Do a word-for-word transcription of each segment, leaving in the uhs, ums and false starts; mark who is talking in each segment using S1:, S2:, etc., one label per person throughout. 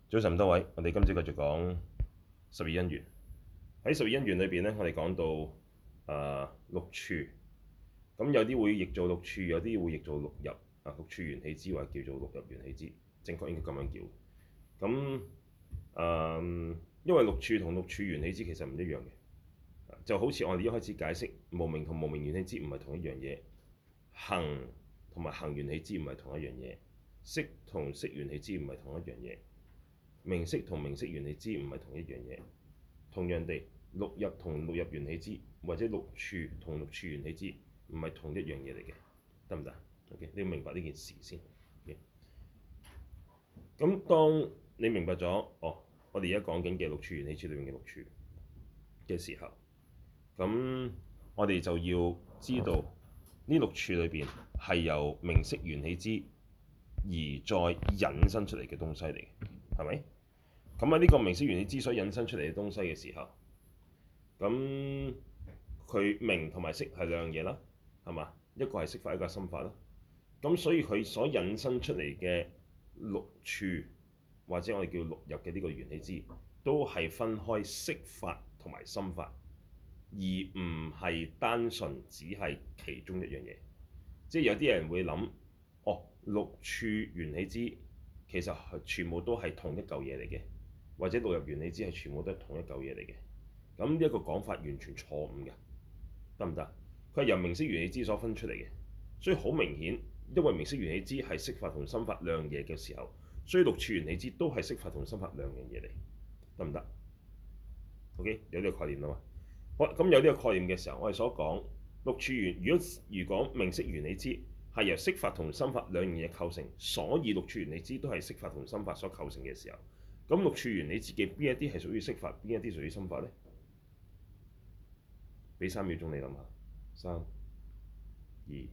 S1: 早晨多位，我哋今朝繼續講十二因緣。喺十二因緣裏邊咧，我哋講到誒、呃、六處，咁有啲會譯做六處，有啲會譯做六入啊。六處緣起支或者叫做六入緣起支，正確應該咁樣叫。咁誒、呃，因為六處同六處緣起支其實唔一樣嘅，就好似我哋一開始解釋無明同無明緣起支唔係同一樣嘢，行同埋行緣起支唔係同一樣嘢，識同識緣起支唔係同一樣嘢。名色同名色緣起支唔係同一樣嘢，同樣地，六入同六入緣起支或者六處同六處緣起支唔係同一樣嘢嚟嘅，得唔得？OK，你要明白呢件事先。咁、okay? 當你明白咗，哦，我哋而家講緊嘅六處緣起支裏面嘅六處嘅時候，咁我哋就要知道呢六處裏邊係由名色緣起支而再引申出嚟嘅東西嚟嘅，係咪？咁喺呢個名色緣起支所引申出嚟嘅東西嘅時候，咁佢名同埋色係兩樣嘢啦，係嘛？一個係色法，一個係心法啦。咁所以佢所引申出嚟嘅六處或者我哋叫六入嘅呢個緣起支，都係分開色法同埋心法，而唔係單純只係其中一樣嘢。即係有啲人會諗，哦，六處緣起支其實全部都係同一嚿嘢嚟嘅。或者六入緣起支係全部都係同一嚿嘢嚟嘅，咁呢一個講法完全錯誤嘅，得唔得？佢係由名色緣起支所分出嚟嘅，所以好明顯，因為名色緣起支係色法同心法兩樣嘢嘅時候，所以六處緣起支都係色法同心法兩樣嘢嚟，得唔得 ？OK， 有呢個概念啦嘛。好，咁有呢個概念嘅時候，我哋所講六處緣，如果如果名色緣起支係由色法同心法兩樣嘢構成，所以六處緣起支都係色法同心法所構成嘅時候。咁六處緣起支嘅邊一啲係屬於色法，邊一啲屬於心法呢？俾三秒鐘你諗下，三、二、一。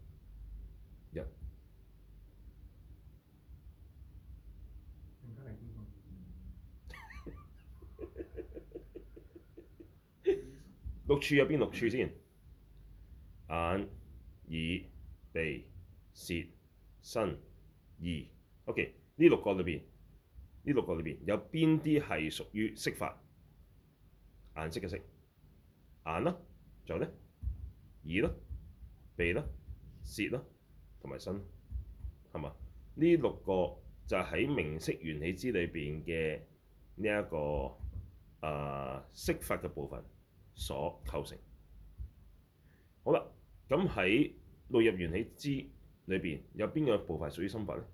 S1: 六處有邊六處先？眼、耳、鼻、舌、身、意。OK，呢六個裏邊。呢六個裏邊有邊啲係屬於色法？顏色嘅色，眼啦，仲有咧，耳啦、鼻啦、舌啦，同埋身，係嘛？呢六個就喺名色緣起支裏邊嘅呢一個啊色法嘅部分所構成。好啦，咁喺六入緣起支裏邊有邊個部分係屬於心法咧？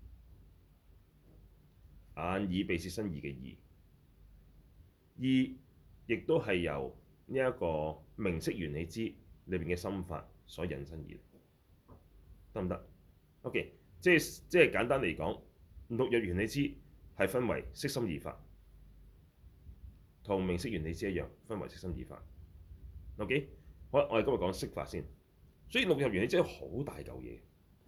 S1: 眼、耳、鼻、舌、身、意嘅意，意亦都係由呢一個名色緣起支裏邊嘅心法所引申而嚟，得唔得 ？OK，即係即係簡單嚟講，六入緣起支係分為色心二法，同名色緣起支一樣，分為色心二法。OK，好啦，我哋今日講色法先，所以六入緣起支好大嚿嘢。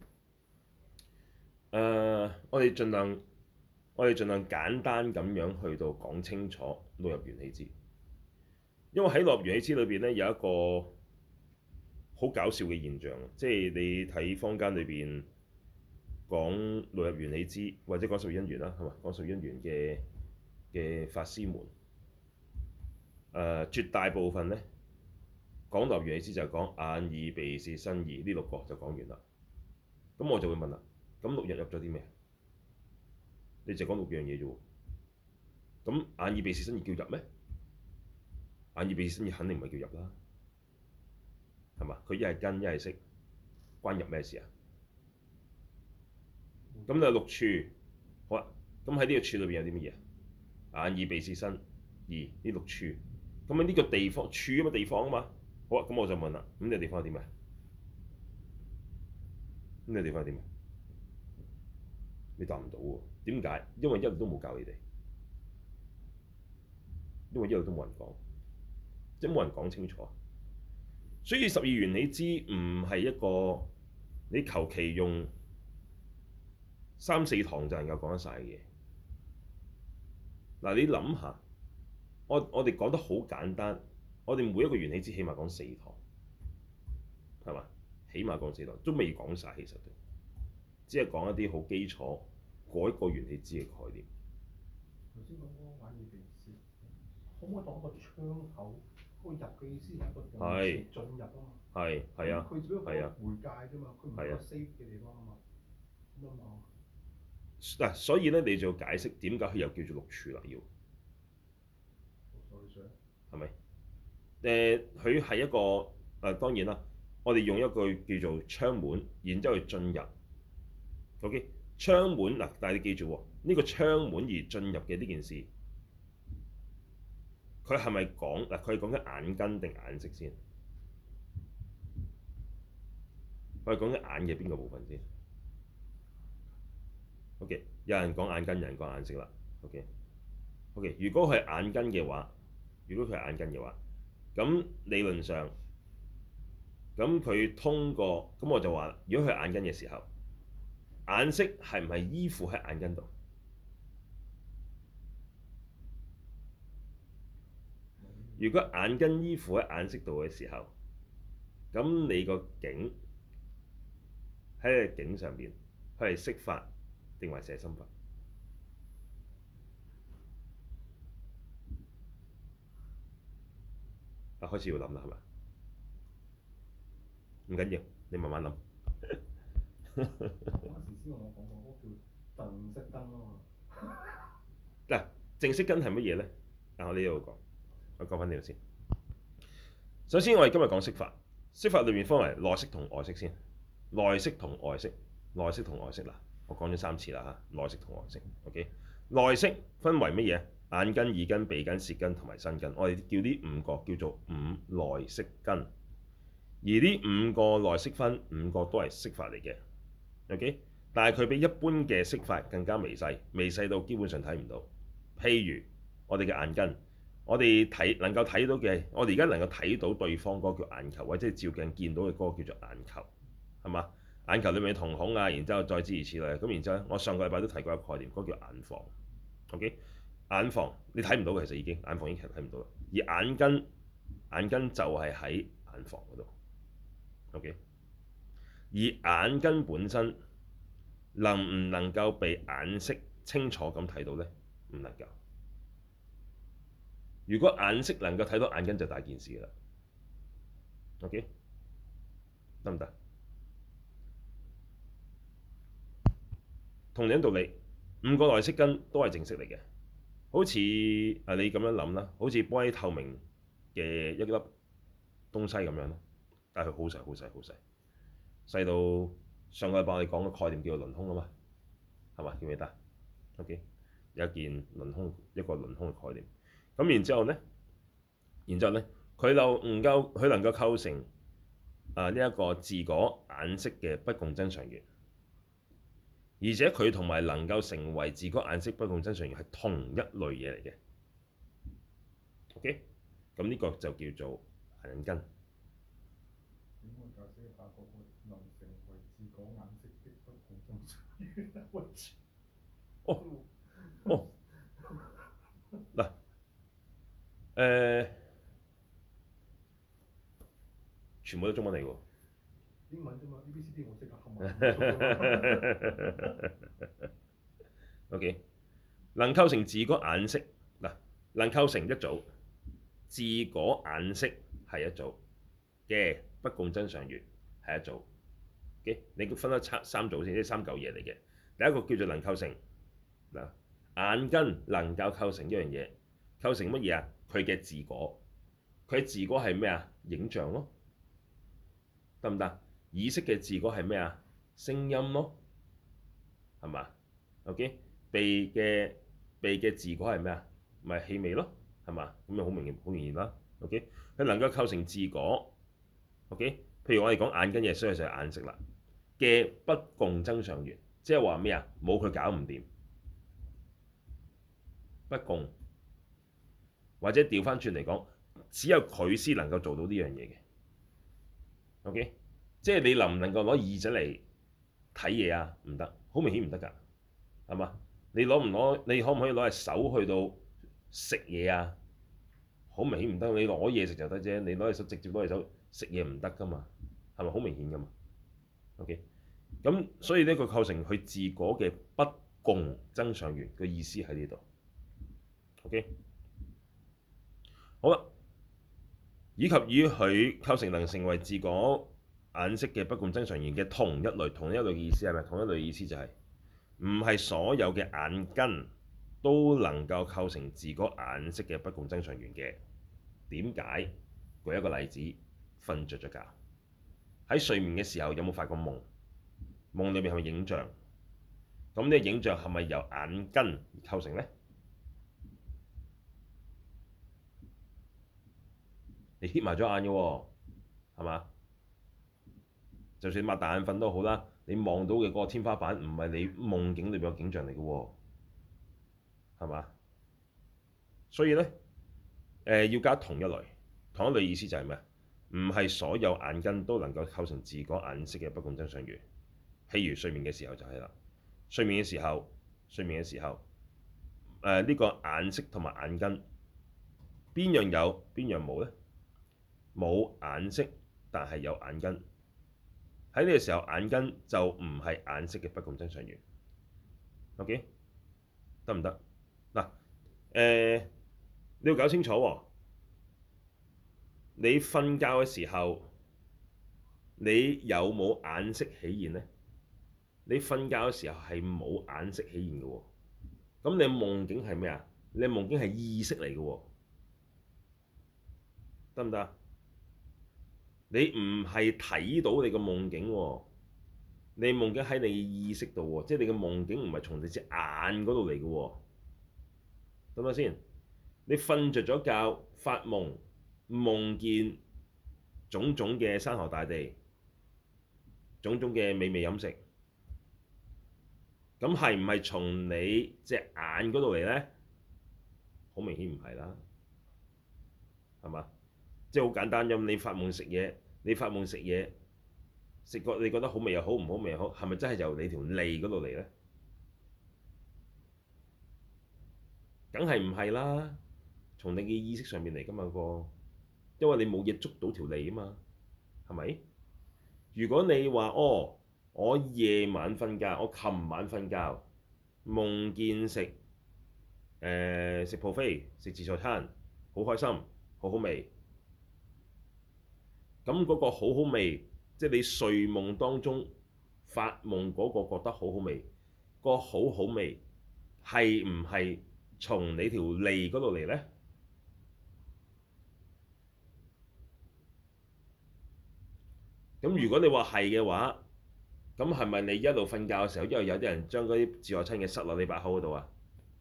S1: 誒、uh，我哋盡量。我哋盡量簡單咁樣去到講清楚六入緣起支，因為喺六入緣起支裏邊咧有一個好搞笑嘅現象，即係你睇坊間裏邊講六入緣起支或者講十二因緣啦，係嘛？講十二因緣嘅嘅法師們，誒、呃、絕大部分咧講六入緣起支就係講眼、耳、鼻、舌、身、意呢六個就講完啦。咁我就會問啦，咁六入入咗啲咩？你就講六樣嘢啫喎，咁眼耳鼻舌身意叫入咩？眼耳鼻舌身意肯定唔係叫入啦，係嘛？佢一係根一係識，關入咩事啊？咁就六處，好啦，咁喺呢個處裏邊有啲乜嘢？眼耳鼻舌身意呢六處，咁喺呢個地方處咁嘅地方啊嘛，好啊，咁我就問啦，咁呢個地方係點啊？呢個地方係點啊？你答唔到喎，點解？因為一路都冇教你哋，因為一路都冇人講，即係冇人講清楚。所以十二緣起支唔係一個你求其用三四堂就能夠講得晒嘅嘢。嗱，你諗下，我我哋講得好簡單，我哋每一個緣起支起碼講四堂，係嘛？起碼講四堂，都未講晒，其實只係講一啲好基礎嗰一個緣起支嘅概念。
S2: 頭先講嗰個玩耳鼻舌，可唔可以當一個窗口？嗰個入嘅意思係一個動詞進入啊嘛。
S1: 係係啊，
S2: 佢只不過
S1: 係啊，
S2: 媒介啫嘛，佢唔係個 safe 嘅地方啊嘛。咁啊嘛。
S1: 嗱，所以咧你就要解釋點解佢又叫做六處啦，要係咪？誒，佢係一個誒、呃，當然啦，我哋用一句叫做窗門，然之後去進入。OK，窗門嗱，但係你記住喎，呢、這個窗門而進入嘅呢件事，佢係咪講嗱？佢係講緊眼根定眼識先？佢係講緊眼嘅邊個部分先？OK，有人講眼根，有人講眼識啦。OK，OK，、OK? OK，如果佢係眼根嘅話，如果佢係眼根嘅話，咁理論上，咁佢通過，咁我就話，如果佢係眼根嘅時候，眼識係唔係依附喺眼根度？如果眼根依附喺眼識度嘅時候，咁你個境喺個境上邊，佢係色法定還是係心法？啊，開始要諗啦，係咪？唔緊要，你慢慢諗。
S2: 嗰陣時先同我講過，嗰個叫淨色根啊嘛。
S1: 嗱，淨色根係乜嘢咧？嗱，我呢度講，我講翻呢度先。首先，我哋今日講色法，色法裏面分為內色同外色先。內色同外色，內色同外色嗱，我講咗三次啦嚇，內色同外色。OK，內色分為乜嘢？眼根、耳根、鼻根、舌根同埋身根。我哋叫呢五個叫做五內色根。而呢五個內色分，五個都係色法嚟嘅。OK，但係佢比一般嘅色法更加微細，微細到基本上睇唔到。譬如我哋嘅眼根，我哋睇能夠睇到嘅，我哋而家能夠睇到對方嗰個叫眼球，或者照鏡見到嘅嗰個叫做眼球，係嘛？眼球裏面嘅瞳孔啊，然之後再諸如此類。咁然之後咧，我上個禮拜都提過一個概念，嗰個叫眼房。OK，眼房你睇唔到嘅，其實已經眼房已經其實睇唔到啦。而眼根，眼根就係喺眼房嗰度。OK，而眼根本身能唔能夠被眼識清楚咁睇到呢？唔能夠。如果眼識能夠睇到眼根就大件事啦。OK，得唔得？同樣道理，五個內色根都係淨色嚟嘅，好似啊你咁樣諗啦，好似玻璃透明嘅一粒東西咁樣咯，但係佢好細好細好細，細到上個禮拜我哋講嘅概念叫做輪空啊嘛，係嘛？記唔記得 ？OK，有一件輪空一個輪空嘅概念，咁然之後咧，然之後咧，佢就唔夠，佢能夠構成啊呢一個自果眼識嘅不共真常緣。而且佢同埋能夠成為自果眼識不共真常緣係同一類嘢嚟嘅。OK，咁呢個就叫做眼根。
S2: 點樣解釋下嗰個能成為自果眼識的不共真常緣？
S1: 哦哦，嗱，誒，全部都中文嚟㗎喎。
S2: 英文啫嘛，A B C D 我識啊，冚唪唥。
S1: OK，能構成自果眼識嗱，能構成一組，自果眼識係一組嘅不共真常緣係一組。OK，你分得三三組先，呢三嚿嘢嚟嘅。第一個叫做能構成嗱，眼根能夠構成一樣嘢，構成乜嘢啊？佢嘅自果，佢嘅自果係咩啊？影像咯，得唔得？耳識嘅自果係咩啊？聲音咯，係嘛 ？OK，鼻嘅鼻嘅自果係咩啊？咪氣味咯，係嘛？咁咪好明顯，好明顯啦。OK，佢能夠構成自果。OK，譬如我哋講眼根嘅，所以就係眼識啦嘅不共真常緣，即係話咩啊？冇佢搞唔掂，不共，或者調翻轉嚟講，只有佢先能夠做到呢樣嘢嘅。OK。即係你能唔能夠攞耳仔嚟睇嘢啊？唔得，好明顯唔得㗎，係嘛？你攞唔攞？你可唔可以攞隻手去到食嘢啊？好明顯唔得。你攞嘢食就得啫，你攞隻手直接攞隻手食嘢唔得㗎嘛？係咪好明顯㗎嘛？OK，咁所以呢個構成佢自果嘅不共真常緣嘅意思喺呢度。 OK， 好啦，以及以佢構成能成為自果眼識嘅不共增上緣嘅同一類，同一類嘅意思係咪？同一類嘅意思就係唔係所有嘅眼根都能夠構成自果眼識嘅不共增上緣嘅。點解？舉一個例子，瞓着咗覺，喺睡眠嘅時候有冇發過夢？夢裏面係咪影像？咁呢個影像係咪由眼根而構成呢？你瞌埋咗眼嘅喎，係嘛？就算擘大眼瞓都好啦，你望到嘅嗰個天花板唔係你夢境裏邊嘅景象嚟嘅喎，係嘛？所以呢，誒、呃、要加同一類，同一類意思就係咩？唔係所有眼根都能夠構成自果眼識嘅不共增上緣。譬如睡眠嘅時候就係啦，睡眠嘅時候，睡眠嘅時候，誒、呃、呢、這個眼識同埋眼根邊樣有邊樣冇呢？冇眼識，但係有眼根。喺呢個時候，眼根就唔係眼識嘅不共增上緣。OK， 得唔得？嗱，誒、呃、你要搞清楚喎。你瞓覺嘅時候，你有冇眼識起現呢？你瞓覺嘅時候係冇眼識起現嘅喎。咁你夢境係咩啊？你夢境係意識嚟嘅喎，得唔得？你唔係睇到你個夢境喎，你夢境喺你嘅意識度喎，即係你嘅夢境唔係從你隻眼嗰度嚟嘅喎，得唔得先？你瞓着咗覺發夢，夢見種種嘅山河大地，種種嘅美味飲食，咁係唔係從你隻眼嗰度嚟呢？好明顯唔係啦，係嘛？即係好簡單咁，你發夢食嘢，你發夢食嘢，食過你覺得好味又好，唔好味又好，係咪真係由你條脷嗰度嚟呢？梗係唔係啦，從你嘅意識上面嚟㗎嘛個，因為你冇嘢捉到條脷啊嘛，係咪？如果你話哦，我夜晚瞓覺，我琴晚瞓覺，夢見食誒食 buffet 食自助餐，好開心，好好味。咁嗰個好好味，即係你睡夢當中發夢嗰個覺得好好味，個好好味係唔係從你條脷嗰度嚟呢？咁如果你話係嘅話，咁係咪你一路瞓覺嘅時候，因為有啲人將嗰啲自助餐嘅塞落你把口嗰度啊？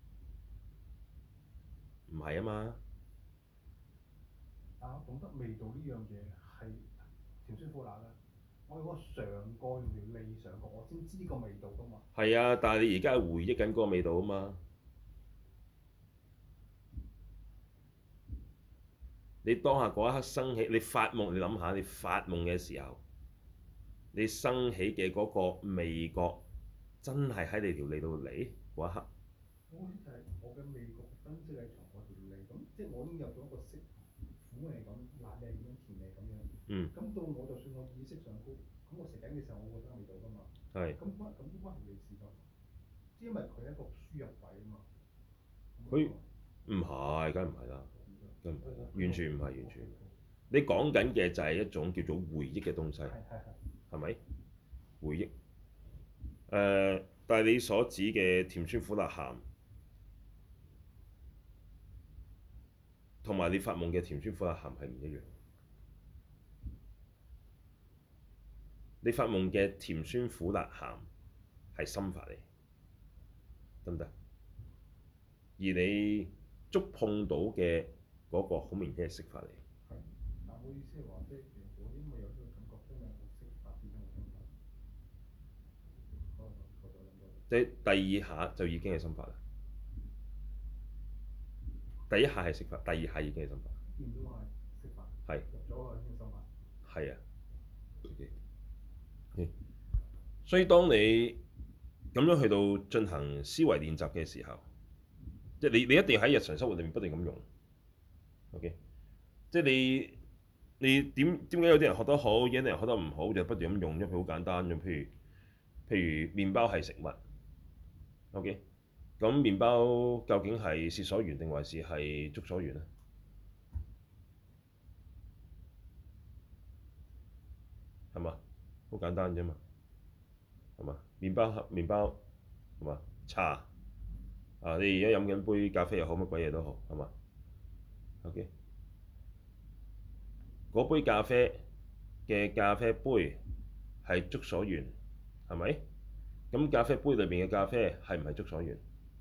S1: 唔係啊嘛。
S2: 但我懂得味道呢樣嘢係甜酸苦辣啦。我嗰個嘗過用條脷嘗過，我先知個味道噶嘛。
S1: 係啊，但係你而家係回憶緊嗰個味道啊嘛。你當下嗰一刻生起，你發夢，你諗下，你發夢嘅時候，你生起嘅嗰個味覺，真係喺你條脷度嚟嗰一刻。
S2: 我好似就係我嘅味覺分析係從我條脷，咁即係我已經有咗一個色，苦味咁，辣味咁，甜味咁樣。
S1: 嗯。
S2: 咁到我就算我意識上高，咁我食緊嘅時候，我覺得味道噶嘛。
S1: 係。
S2: 咁關咁都關條脷事㗎，因為佢係一個輸入位啊嘛。
S1: 佢唔係，梗係唔係啦，梗唔係啦，完全唔係，完全唔係。你講緊嘅就係一種叫做回憶嘅東西，係咪？回憶。誒、呃，但係你所指嘅甜酸苦辣鹹，同埋你發夢嘅甜酸苦辣鹹係唔一樣。你發夢嘅甜酸苦辣鹹係心法嚟，得唔得？而你觸碰到嘅嗰個好明顯係色法嚟。
S2: 係，但我意思係話，即係我因為有呢個感覺，因為我色法變咗我心法。可能我再諗多啲。
S1: 即係第二下就已經係心法啦。第一下係色法，第二下已經係心法。
S2: 見到係色法。
S1: 係。
S2: 入咗去先心法。
S1: 係啊。Okay. Okay. 所以當你咁樣去到進行思維練習嘅時候，即係你你一定要喺日常生活裏面不斷咁用。OK，即係你你點點解有啲人學得好，有啲人學得唔好，就不斷咁用，因為佢好簡單咁。譬如譬如麵包係食物，OK， 咁麵包究竟係舌所緣定還是係觸所緣咧？係嘛？好簡單啫嘛，係嘛？麵包麵包係嘛？茶啊，你而家飲緊杯咖啡又好，乜鬼嘢都好，係嘛？OK，嗰杯咖啡嘅咖啡杯係觸所緣，係咪？咁咖啡杯裏邊嘅咖啡係唔係觸所緣？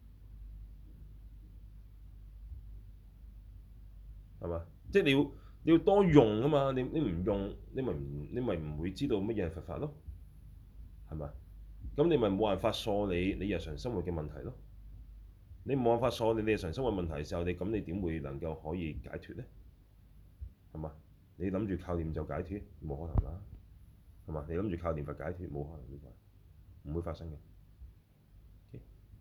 S1: 係嘛？即係你要你要多用啊嘛！你你唔用，你咪唔你咪唔會知道乜嘢係佛法咯，係嘛？咁你咪冇辦法梳理你日常生活嘅問題咯。你冇辦法梳理你日常生活問題嘅時候，你咁你點會能夠可以解脫咧？係嘛？你諗住靠念就解脫，冇可能啦，係嘛？你諗住靠念佛解脫，冇可能呢個，唔會發生嘅。Okay?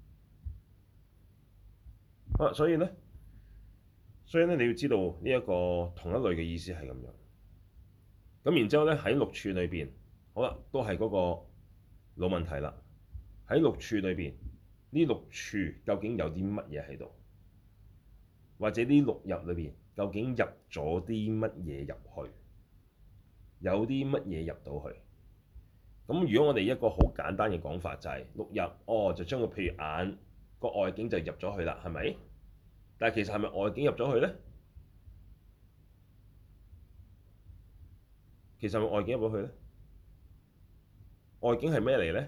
S1: 啊，所以咧，所以咧，你要知道呢一個同一類嘅意思係咁樣。咁然之後咧，喺六處裏邊，好啦，都係嗰個老問題啦。喺六處裏邊，呢六處究竟有啲乜嘢喺度？或者呢六入裏邊究竟入咗啲乜嘢入去？有啲乜嘢入到去？咁如果我哋一個好簡單嘅講法就係、是、六入，哦，就將個譬如眼個外境就入咗去啦，係咪？但係其實係咪外境入咗去咧？其實係咪外境入咗去咧？外境係咩嚟咧？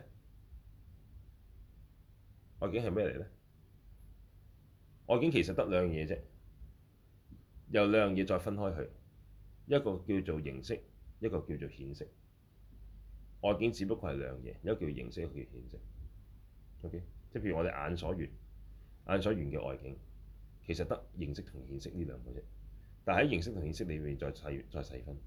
S1: 外境係咩嚟咧？外境其實得兩樣嘢啫，由兩樣嘢再分開去，一個叫做形色，一個叫做顯色。外境只不過係兩樣嘢，一個叫形色，一個叫顯色。OK，即係譬如我哋眼所緣，眼所緣嘅外境其實得形色同顯色呢兩個啫，但係喺形色同顯色裏面再細再細分。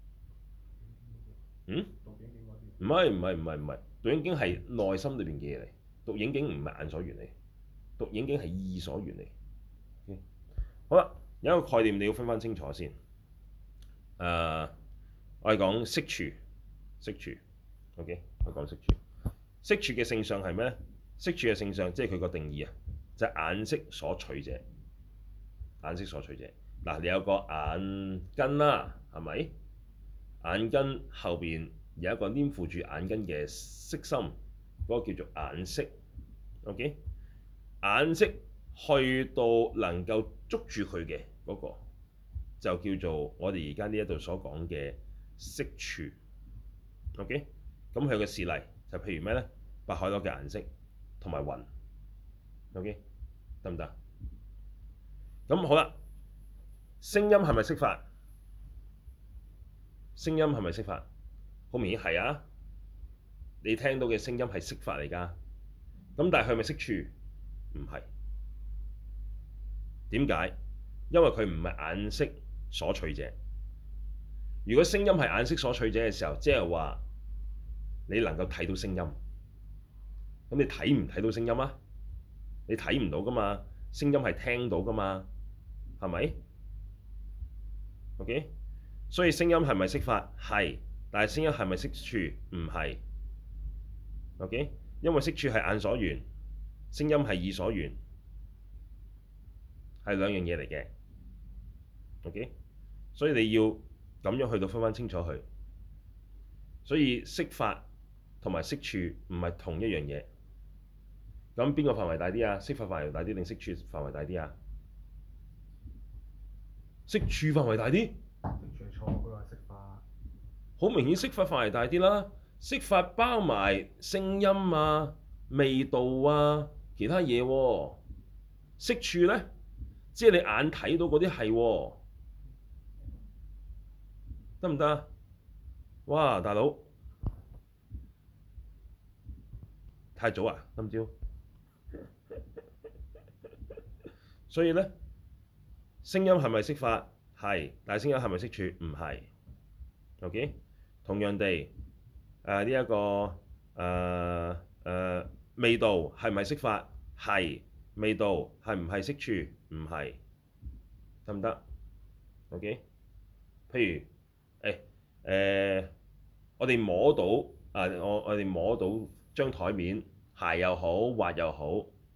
S1: 嗯？唔係唔係唔係唔係，獨影境係內心裏邊嘅嘢嚟，獨影境唔係眼所緣嚟，獨影境係意所緣嚟。Okay? 好啦，有一個概念你要分翻清楚先。誒、uh，我哋講色處，色處。OK，我講色處。色處嘅性相係咩咧？色處嘅性相即係佢個定義啊，就係、是、眼色所取者。眼色所取者，嗱，你有個眼根啦，係咪？眼根後邊有一個黏附住眼根嘅色心，嗰、那個叫做眼識。OK，眼識去到能夠捉住佢嘅嗰個，就叫做我哋而家呢一度所講嘅色處。OK，咁佢嘅事例就譬如咩咧？白海螺嘅顏色同埋雲。OK，得唔得？咁好啦，聲音係咪色法？聲音係咪色法？好明顯係啊！你聽到嘅聲音係色法嚟㗎。咁但係佢係咪色處？唔係。點解？因為佢唔係眼識所取者。如果聲音係眼識所取者嘅時候，即係話你能夠睇到聲音。咁你睇唔睇到聲音啊？你睇唔到㗎嘛？聲音係聽到㗎嘛？係咪 ？OK，所以聲音係咪色法？係，但係聲音係咪色處？唔係。OK，因為色處係眼所緣，聲音係意所緣，係兩樣嘢嚟嘅。OK，所以你要咁樣去到分翻清楚佢。所以色法同埋色處唔係同一樣嘢。咁邊個範圍大啲啊？色法範圍大啲定色處範圍大啲啊？色處範圍大啲。
S2: 色處錯，佢話色法。
S1: 好明顯，色法範圍大啲啦。色法包埋聲音啊、味道啊、其他嘢喎。色處咧，即係你眼睇到嗰啲係喎，得唔得啊？哇，大佬，太早啊，今朝。所以咧，聲音係咪色法？係，但係聲音係咪色處？唔係。OK，同樣地，誒呢一個誒誒、呃呃、味道係咪色法？係，味道係唔係色處？唔係，得唔得 ？OK，譬如誒誒、呃，我哋摸到啊，我我哋摸到張台面，鞋又好，滑又好，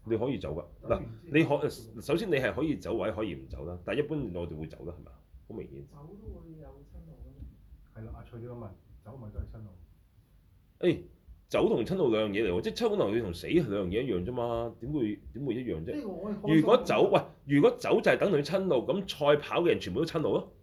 S1: 你可以走㗎。嗱，你可首先你係可以走或者可以唔走啦，但係一般我哋會走啦，係咪啊？好明顯。
S3: 走都會有親路㗎嘛。
S2: 係啦，阿翠呢個問走咪都係親路。
S1: 誒，走同親路兩樣嘢嚟喎，即係親路同死係兩樣嘢一樣啫嘛，點會點會一樣啫？
S2: 呢個我係
S1: 如果走喂，如果走就係等同於親路，咁賽跑嘅人全部都親路咯。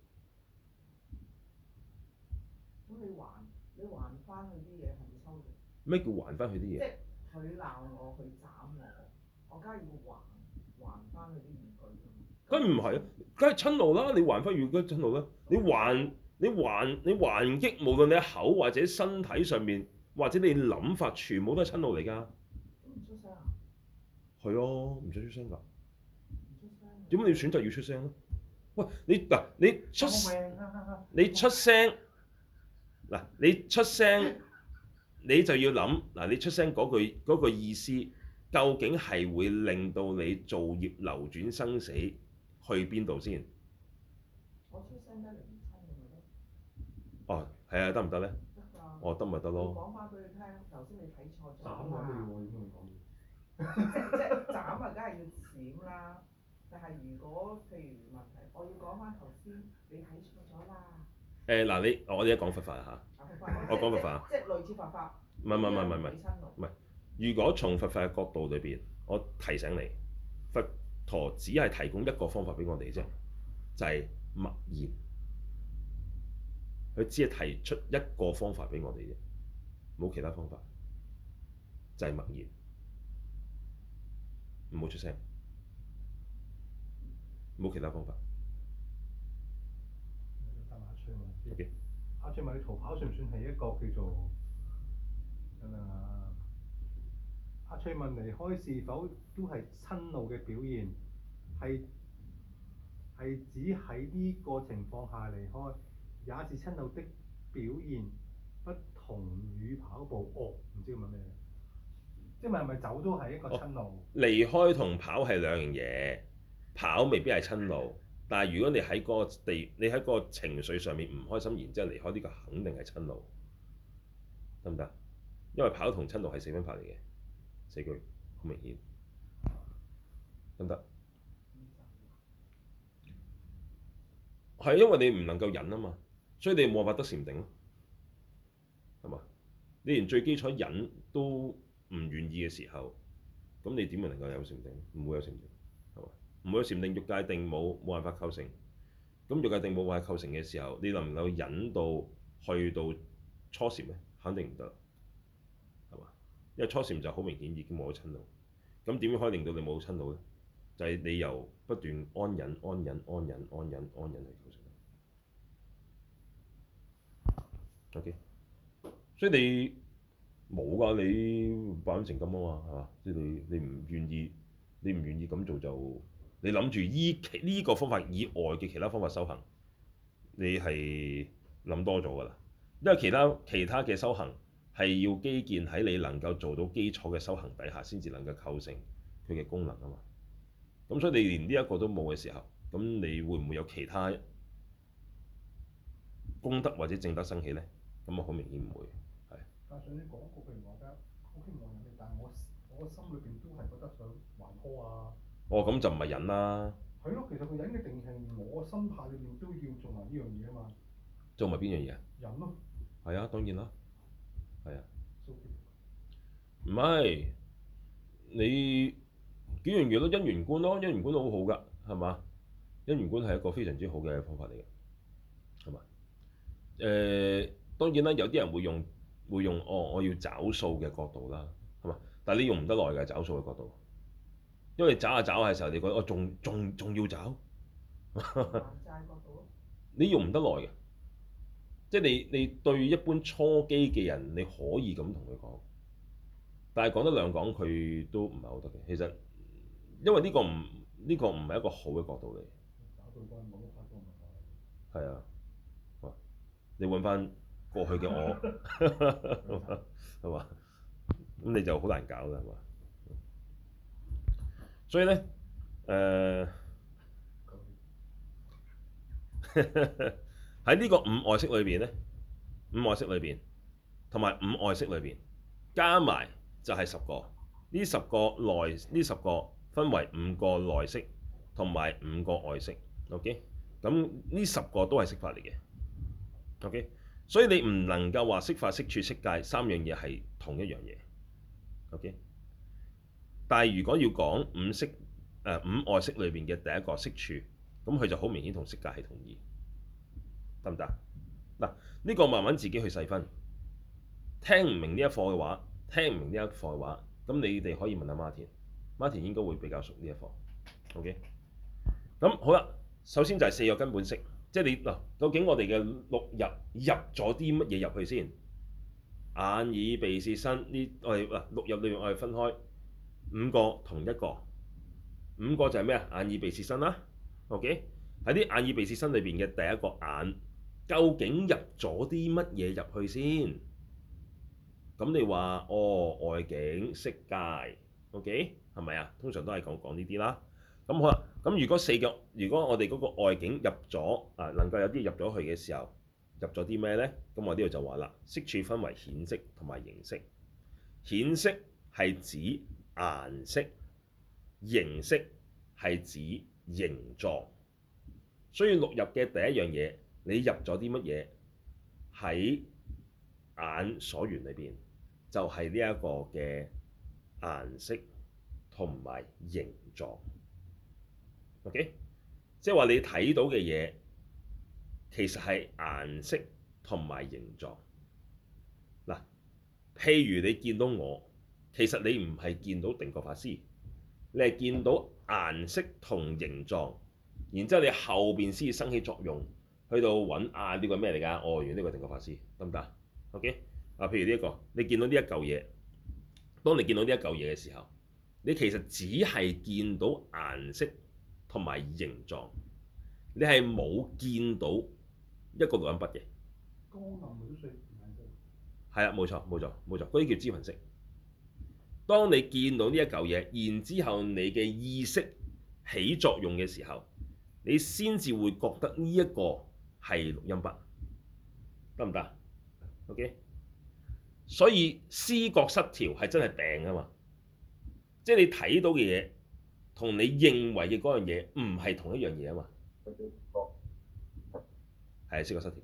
S3: 咁你還你還翻佢啲嘢係咪抽嘅？
S1: 咩叫還翻佢啲嘢？
S3: 即係佢鬧我，佢斬我，我梗係要還還翻佢啲語句㗎嘛。
S1: 梗唔係啊，梗係親路啦！你還翻語句親路啦，你還你還你還擊，無論你口或者身體上面，或者你諗法，全部都係親路嚟㗎。
S3: 咁唔出聲啊？
S1: 係啊，唔使出聲㗎。
S3: 唔出聲。
S1: 點解你要選擇要出聲咧？喂，你嗱你出
S2: 救命啊！
S1: 你出聲嗱，你出聲你就要諗嗱，你出聲嗰句嗰個意思，究竟係會令到你造業流轉生死去邊度先？
S3: 我出聲得嚟唔親你咪得。
S1: 哦，係啊，得唔得咧？
S3: 得㗎。
S1: 哦，得咪得咯。
S3: 講翻俾佢聽，頭先你睇錯咗
S2: 斬我
S3: 啊！
S2: 我應該會講嘢。
S3: 即即斬啊，梗係要閃啦。但係如果譬如問題，我要講翻頭先你睇錯咗啦。
S1: 誒嗱、你我哋而家講佛法嚇，我講佛法啊，
S3: 即係類似佛法。
S1: 唔係唔係唔係唔係唔係。如果從佛法嘅角度裏邊，我提醒你，佛陀只係提供一個方法俾我哋啫，就係、是、默然。佢只係提出一個方法俾我哋啫，冇其他方法，就係、是、默然，唔好出聲，冇其他方法。
S2: 答阿翠問先。
S1: OK。
S2: 阿翠問你逃跑算唔算係一個叫做誒？阿翠問離開是否都係親路嘅表現？係係指喺呢個情況下離開，也是親路的表現，不同於跑步。哦，唔知佢問咩？即係咪係咪走都係一個親路？
S1: 哦、離開同跑係兩樣嘢，跑未必係親路，但係如果你喺嗰個地，你喺嗰個情緒上面唔開心，然之後離開呢個肯定係親路，得唔得？因為跑同親路係四分法嚟嘅，四句好明顯，得唔得？係因為你唔能夠忍啊嘛，所以你冇辦法得禪定咯，係嘛？你連最基礎忍都唔願意嘅時候，咁你點會能夠有禪定？唔會有禪定，係嘛？唔會有禪定，欲界定冇冇辦法構成。咁欲界定冇辦法構成嘅時候，你能唔能夠忍到去到初禪咧？肯定唔得，係嘛？因為初禪就好明顯已經冇咗親路。咁點樣可以令到你冇親路咧？就係、是、你由不斷安忍、安忍、安忍、安忍、安忍去構成。OK，所以你冇㗎，你百分成金啊嘛，係嘛？即係你你唔願意，你唔願意咁做就，你諗住依其呢個方法以外嘅其他方法修行，你係諗多咗㗎啦。因為其他其他嘅修行係要基建喺你能夠做到基礎嘅修行底下，先至能夠構成佢嘅功能啊嘛。咁所以你連呢一個都冇嘅時候，咁你會唔會有其他功德或者正德生起咧？咁啊，好明顯唔會，係。
S2: 加上你講過譬如話齋，好希望人哋，但係我我個心裏邊都係覺得想還拖啊。
S1: 哦，咁就唔係忍啦。
S2: 係咯，其實個忍嘅定義係我個心態裏邊都要做埋呢樣嘢啊嘛。
S1: 做埋邊樣嘢啊？
S2: 忍咯。
S1: 係啊，當然啦。係啊。
S2: So
S1: 唔係你幾樣嘢咯？因緣觀咯，因緣觀都好好㗎，係嘛？因緣觀係一個非常之好嘅方法嚟嘅，係嘛？誒、呃，當然啦，有啲人會用會用哦，我要找數嘅角度啦，係嘛？但係你用唔得耐嘅找數嘅角度，因為找下找下嘅時候，你覺得我仲仲仲要找，
S3: 還債角度
S1: 你用唔得耐嘅，即係你你對一般初機嘅人，你可以咁同佢講，但係講得兩講佢都唔係好得嘅。其實因為呢個唔呢、呢個唔係一個好嘅角度嚟。
S2: 找對方冇得拍拖咪係。
S1: 係啊。你揾翻過去嘅我，係嘛？咁你就好難搞啦，係嘛？所以咧，誒喺呢個五外色裏邊咧，五外色裏邊同埋五外色裏邊加埋就係十個， 呢十個內呢十個分為五個內色同埋五個外色。OK，咁呢十個都係色法嚟嘅。OK，所以你唔能夠話色法、色處、色界三樣嘢係同一樣嘢。OK，但係如果要講五色誒、呃、五外色裏邊嘅第一個色處，咁佢就好明顯同色界係同意，得唔得？嗱，呢個慢慢自己去細分。聽唔明呢一課嘅話，聽唔明呢一課嘅話，咁你哋可以問下 Martin，Martin 應該會比較熟呢一課。OK，咁好啦，首先就係四個根本色，即係你嗱，究竟我哋嘅六入入咗啲乜嘢入去先？眼耳鼻舌身呢？我哋嗱六入裏面我哋分開五個同一個，五個就係咩啊？眼耳鼻舌身啦。OK，喺啲眼耳鼻舌身裏邊嘅第一個眼，究竟入咗啲乜嘢入去先？咁你話哦，外境色界 ，OK 係咪啊？通常都係講講呢啲啦。咁好啦，咁如果四個，如果我哋嗰個外境入咗啊，能夠有啲入咗去嘅時候，入咗啲咩咧？咁我呢度就話啦，色處分為顯色同埋形色。顯色係指顏色，形色係指形狀。所以六入嘅第一樣嘢，你入咗啲乜嘢喺眼所緣裏邊？就係呢一個嘅顏色同埋形狀。OK，即係話你睇到嘅嘢其實係顏色同埋形狀。嗱，譬如你見到我，其實你唔係見到定覺法師，你係見到顏色同形狀，然之後你後邊先至生起作用，去到揾啊呢個咩嚟㗎？哦，原來呢個定覺法師，得唔得？OK。啊，譬如呢一個，你見到呢一嚿嘢，當你見到呢一嚿嘢嘅時候，你其實只係見到顏色同埋形狀，你係冇見到一個錄音筆嘅。
S2: 光暗秒碎顏色。
S1: 係啊，冇錯冇錯冇錯，嗰啲叫支分色。當你見到呢一嚿嘢，然之後你嘅意識起作用嘅時候，你先至會覺得呢一個係錄音筆，得唔得 ？OK。所以思覺失調係真係病啊嘛！即係你睇到嘅嘢同你認為嘅嗰樣嘢唔係同一樣嘢啊嘛。係思覺失調，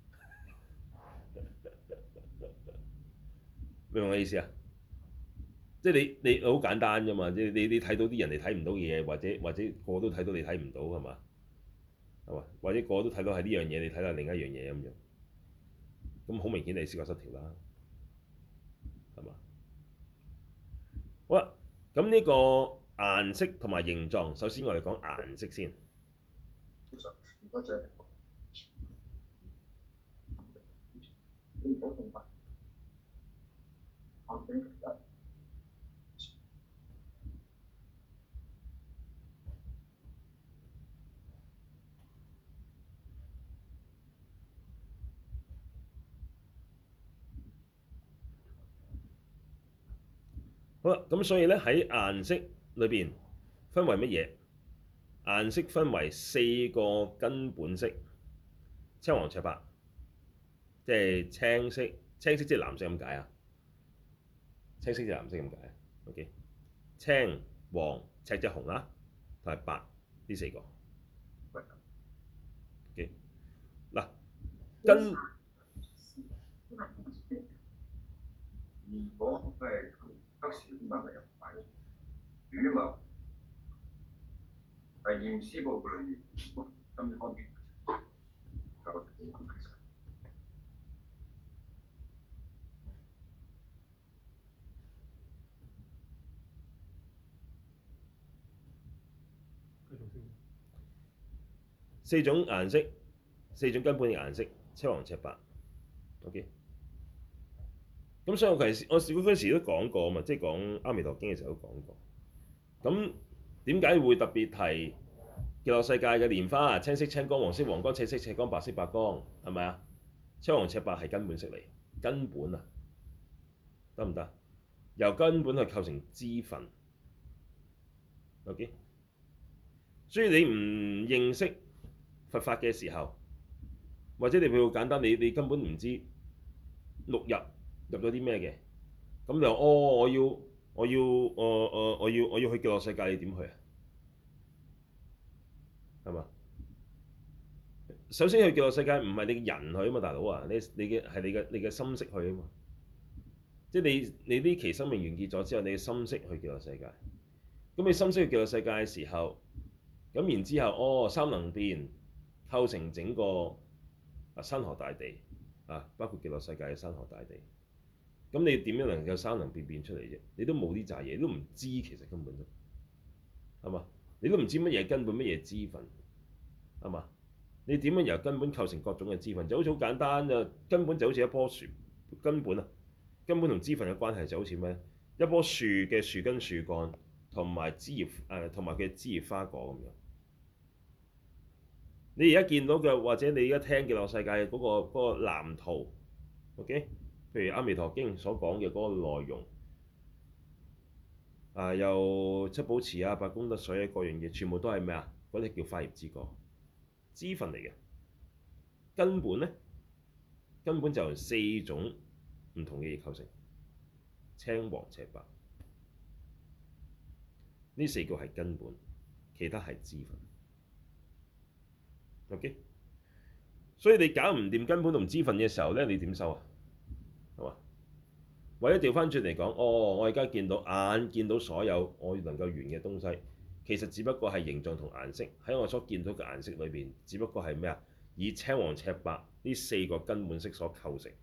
S1: 明唔明我意思啊？即係你你好簡單啫嘛！即係你你睇到啲人哋睇唔到嘅嘢，或者或者個個都睇到你睇唔到係嘛？係嘛？或者個個都睇到係呢樣嘢，你睇到另一樣嘢咁樣，咁好明顯你思覺失調啦。係嘛？好啦，咁呢個顏色同埋形狀，首先我哋講顏色先。好啦，咁所以咧喺顏色裏邊分為乜嘢？顏色分為四個根本色：青黃赤白，即係青色，青色即係藍色咁解啊。青色即係藍色咁解啊。OK， 青、黃、赤即係紅啦，同埋白呢四個。OK， 嗱根。如果係黑色點解係入白？羽毛係驗屍報告裏面咁方面就四種顏色，四種根本嘅顏色，青黃赤白。OK。咁所以我其實我嗰陣時都講過啊嘛，即係講《阿彌陀經》嘅時候都講過。咁點解會特別提極樂世界嘅蓮花？青色、青光、黃色、黃光、赤色、赤光、白色、白光，係咪啊？青黃赤白係根本色嚟，根本啊，得唔得？由根本去構成支分。OK， 所以你唔認識佛法嘅時候，或者你譬如好簡單，你你根本唔知六入入咗啲咩嘅，咁就哦，我要我要我我我要我要去極樂世界，你點去啊？係嘛？首先去極樂世界唔係你嘅人去啊嘛，大佬啊，你你嘅係你嘅你嘅心識去啊嘛。即係你你呢期生命完結咗之後，你嘅心識去極樂世界。咁你心識去極樂世界嘅時候，咁然之後，哦，三能變構成整個啊山河大地啊，包括極樂世界嘅山河大地。咁你點樣能夠三能變變出嚟啫？你都冇呢扎嘢，你都唔知其實根本都係嘛？你都唔知乜嘢根本，乜嘢支分係嘛？你點樣由根本構成各種嘅支分？就好似好簡單啊，根本就好似一棵樹根本啊，根本同支分嘅關係就好似咩？一棵樹嘅樹根、樹幹同埋枝葉誒，同埋佢嘅枝葉花果咁樣。你而家見到嘅，或者你而家聽極樂世界嗰、嗰個嗰、嗰個藍圖 ，OK？譬如《阿彌陀經》所講嘅嗰個內容，啊，又七寶池啊、八功德水啊，各樣嘢全部都係咩啊？嗰啲叫花葉之果，支分嚟嘅。根本咧，根本就由四種唔同嘅嘢構成，青黃赤白。呢四個係根本，其他係支分。OK，所以你搞唔掂根本同支分嘅時候咧，你點收啊？係嘛？或者調翻轉嚟講，哦，我而家見到眼見到所有我能夠緣嘅東西，其實只不過係形狀同顏色，喺我所見到嘅顏色裏邊，只不過係咩啊？以青黃赤白呢四個根本色所構成。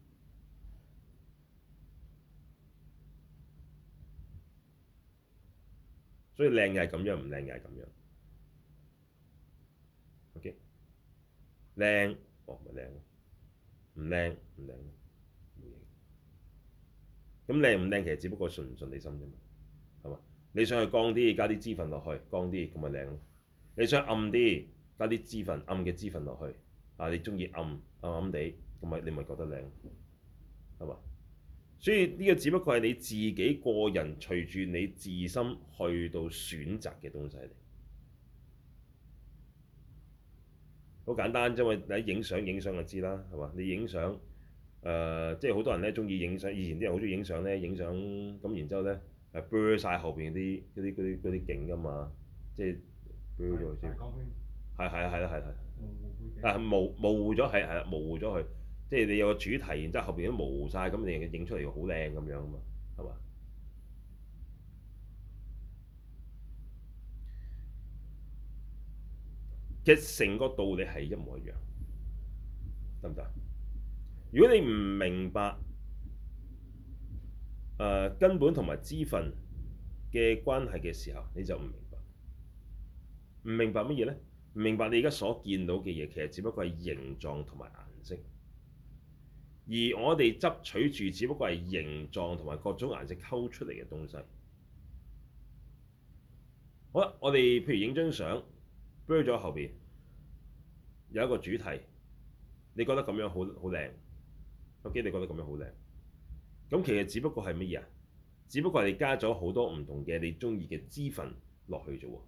S1: 所以靚嘅係咁樣，唔靚嘅係咁樣。OK，靚，哦咪靚咯，唔靚唔靚咯，冇嘢。咁靚唔靚其實只不過順唔順你心啫嘛，係嘛？你想去光啲，加啲支分落去，光啲咁咪靚咯。你想暗啲，加啲支分，暗嘅支分落去，啊你中意暗暗暗地，咁咪你咪覺得靚，係嘛？所以呢個只不過係你自己個人隨住你自心去到選擇嘅東西嚟，好簡單啫嘛！你影相影相就知啦，係嘛？你影相誒，即係好多人咧中意影相，以前啲人好中意影相咧，影相咁然之後咧誒 blur 曬後邊啲嗰啲嗰啲嗰啲景㗎嘛，即係 blur 咗先。係係啊係啦係係。啊模模糊咗係係啦，模糊咗佢。即係你有個主題，然之後後邊都模糊晒，咁你影出嚟好靚咁樣啊嘛，係嘛？其實成個道理係一模一樣，得唔得？如果你唔明白誒、呃、根本同埋支分嘅關係嘅時候，你就唔明白。唔明白乜嘢咧？唔明白你而家所見到嘅嘢，其實只不過係形狀同埋顏色。而我哋執取住，只不過係形狀同埋各種顏色溝出嚟嘅東西。好啦，我哋譬如影張相 blur 咗後邊有一個主題，你覺得咁樣好好靚，OK？你覺得咁樣好靚，咁其實只不過係乜嘢啊？只不過係你加咗好多唔同嘅你中意嘅支分落去啫喎。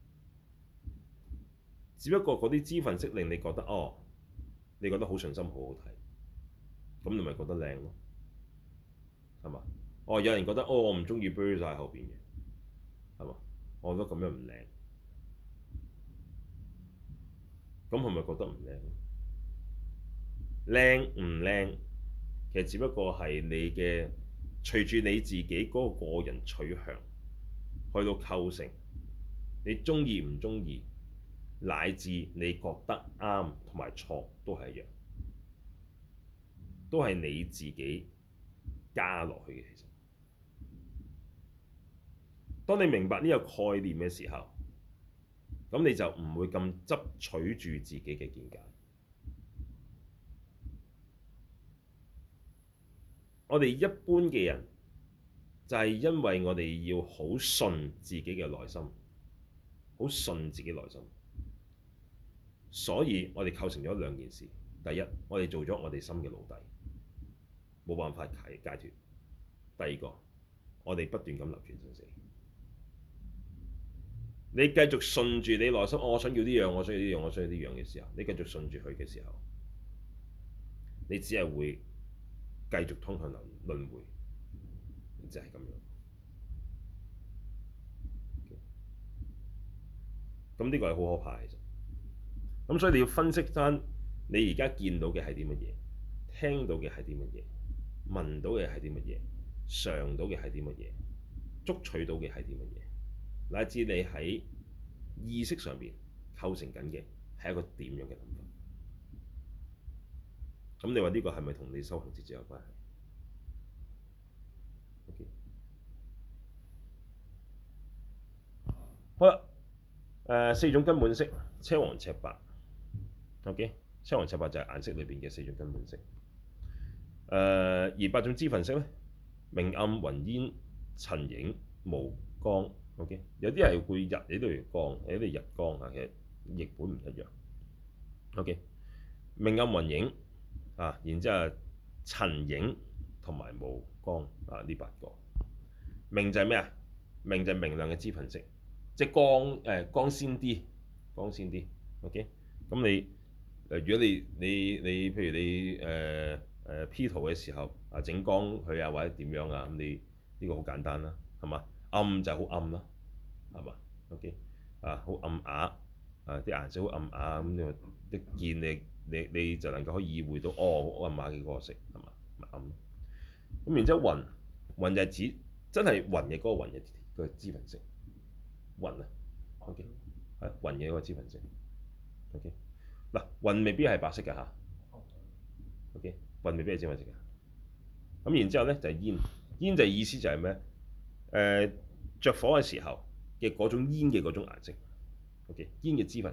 S1: 只不過嗰啲支分識令你覺得哦，你覺得好順心，好好睇。咁你咪覺得靚咯，係嘛？哦，有人覺得哦，我唔中意 blur 曬後邊嘅，係嘛？我覺得咁樣唔靚，咁係咪覺得唔靚？靚唔靚，其實只不過係你嘅隨住你自己嗰個個人取向去到構成，你中意唔中意，乃至你覺得啱同埋錯都係一樣。都係你自己加落去嘅。其實，當你明白呢個概念嘅時候，咁你就唔會咁執取住自己嘅見解。我哋一般嘅人就係因為我哋要好順自己嘅內心，好順自己內心，所以我哋構成咗兩件事。第一，我哋做咗我哋心嘅奴隸，冇辦法解解脫。第二個，我哋不斷咁流轉生死。你繼續順住你內心，哦，我想要呢樣，我想要呢樣，我想要呢樣嘅時候，你繼續順住佢嘅時候，你只係會繼續通向輪輪迴，就係咁樣。 咁呢個係好可怕嘅。其實咁所以你要分析翻你而家見到嘅係啲乜嘢，聽到嘅係啲乜嘢，聞到嘅係啲乜嘢，嘗到嘅係啲乜嘢，捉取到嘅係啲乜嘢，乃至你喺意識上邊構成緊嘅係一個點樣嘅諗法。咁你話呢個係咪同你修行直接有關係？OK，好啦，誒、呃、四種根本色，青黃赤白。OK，青黃赤白就係顏色裏邊嘅四種根本色。誒、呃、而八種支分色咧，明暗雲煙塵影無光。OK，有啲係會日，有啲係光，有啲係日光啊，其實譯本唔一樣。OK，明暗雲影。啊，然之後塵影同埋無光啊，呢八個明就係咩啊？明就係明亮嘅支分色，即係光誒、呃、光鮮啲，光鮮啲。OK，咁你誒、呃、如果你你你譬如你誒誒、呃呃、P 圖嘅時候啊，整光佢啊或者點樣啊，咁你呢、呢個好簡單啦，係嘛？暗就係好暗啦，係嘛？OK，啊好暗啞啊，啲顏色好暗啞咁，你一見你。你你就能夠可以意會到，哦，暗啞嘅嗰個色係嘛？咪暗。咁然之後雲，雲就係指真係雲嘅嗰個雲嘅個支分色。雲啊 ，OK，係雲嘅嗰個支分色。OK，嗱，雲未必係白色㗎嚇。OK，雲未必係支分色㗎。咁然之後咧就係煙，煙就係意思就係咩？誒、呃，著火嘅時候嘅嗰種煙嘅嗰種顏色。OK，煙嘅支分。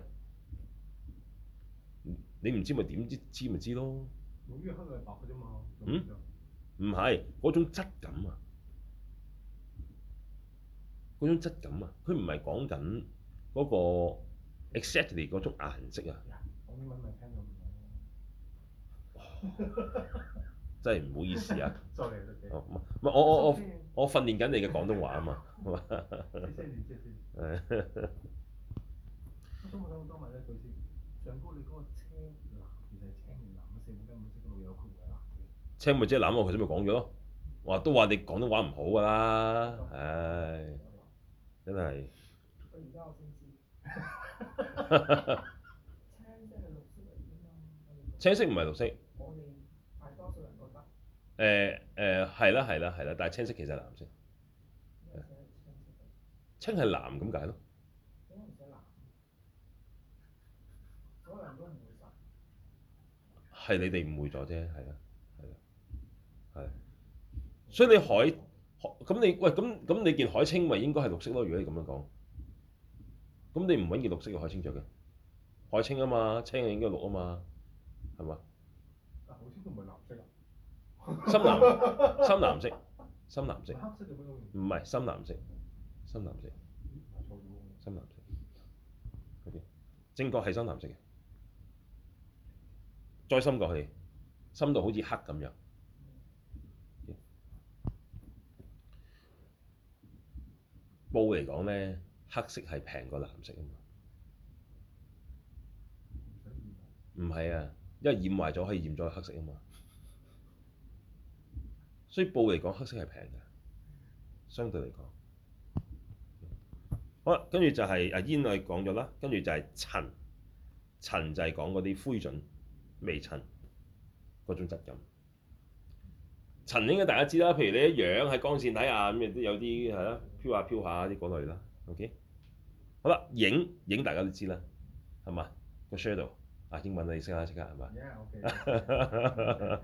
S1: 你唔知咪點知？知咪知咯。
S2: 冇於黑係白嘅啫嘛。
S1: 嗯？唔係嗰種質感啊，嗰種質感啊，佢唔係講緊嗰個 exactly 嗰種顏色啊。
S2: 講英文咪聽到唔到。
S1: 真係唔好意思啊。
S2: Sorry，
S1: 哦，唔係我我我我訓練緊你嘅廣東話啊嘛，係嘛？
S2: 謝謝你，謝謝你。誒。我想問多問一句先，上高你嗰個青藍其實係青定藍啊？四種根本色嗰度有佢嘅藍嘅。青
S1: 咪即係藍，我頭先咪講咗咯。話都話你廣東話唔好㗎啦，唉，真係。
S3: 我而家我先知。青色係綠色嚟㗎嘛。
S1: 青色唔係綠色。
S3: 我哋大多數人覺得。
S1: 誒誒係啦係啦係啦，但係青色其實係藍色。青係藍咁解咯。
S3: 點解唔寫藍？所有人都誤會晒。
S1: 係你哋誤會咗啫，係啦係啦係。所以你海咁你喂咁咁你件海青咪應該係綠色咯？如果你咁樣講，咁你唔揾件綠色嘅海青着嘅，海青啊嘛，青係應該綠啊嘛，係嘛？
S2: 啊，海青都唔係藍色啊。
S1: 深藍深藍色深藍色。
S2: 黑色嘅咩？
S1: 唔係深藍色深藍色。
S2: 錯咗喎。
S1: 深藍色。O.K. 正確係深藍色嘅，再深過去，深到好似黑咁樣。布嚟講咧，黑色係平過藍色啊嘛。唔係啊，因為染壞咗可以染咗黑色啊嘛。所以布嚟講，黑色係平嘅，相對嚟講。好啦，跟住就係啊煙我哋講咗啦，跟住就係塵，塵就係講嗰啲灰燼、微塵嗰種質感。塵應該大家知啦，譬如你一樣喺光線底下咁，亦都有啲係啦，飄下飄下啲嗰類啦。OK，好啦，影影大家都知啦，係嘛？個 shadow 啊，英文你識啦，識啦係嘛
S2: Yeah，OK。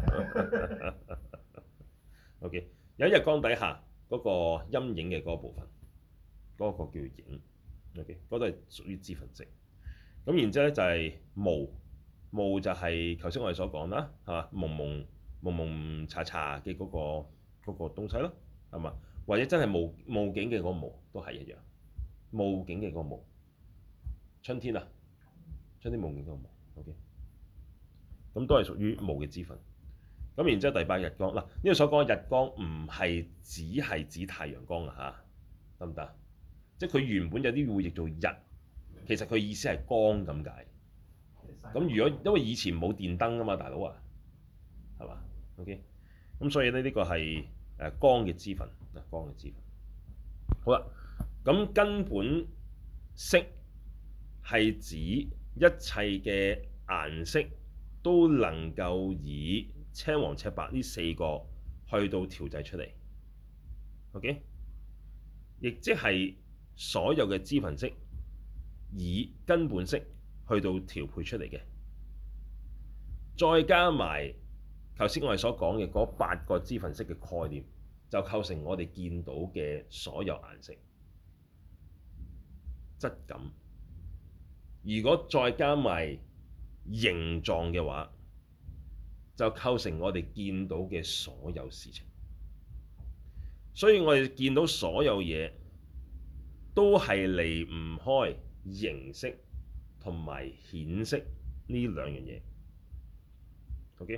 S1: OK， 有一日光底下嗰個陰影嘅嗰個部分，嗰個叫影。OK，嗰度係屬於支分色。咁然之後咧就係霧，霧就係頭先我哋所講啦，係嘛？蒙蒙蒙蒙查查嘅嗰個嗰個東西咯，係嘛？或者真係霧霧景嘅嗰個霧都係一樣，霧景嘅嗰個霧。春天啊，春天霧景嗰個霧。OK，咁都係屬於霧嘅支分。咁然之後第八日光嗱，呢度所講嘅日光唔係只係指太陽光啊嚇，得唔得？即係佢原本有啲會譯做日，其實佢意思係光咁解。咁如果因為以前冇電燈啊嘛，大佬啊，係嘛 ？OK，咁所以咧呢個係誒光嘅支分啊，光嘅支分。好啦，咁根本色係指一切嘅顏色都能夠以青黃赤白呢四個去到調製出嚟。OK，亦即係所有嘅支分色以根本色去到調配出嚟嘅，再加埋頭先我哋所講嘅嗰八個支分色嘅概念，就構成我哋見到嘅所有顏色質感。如果再加埋形狀嘅話，就構成我哋見到嘅所有事情。所以我哋見到所有嘢都係離唔開形色同埋顯色呢兩樣嘢。OK，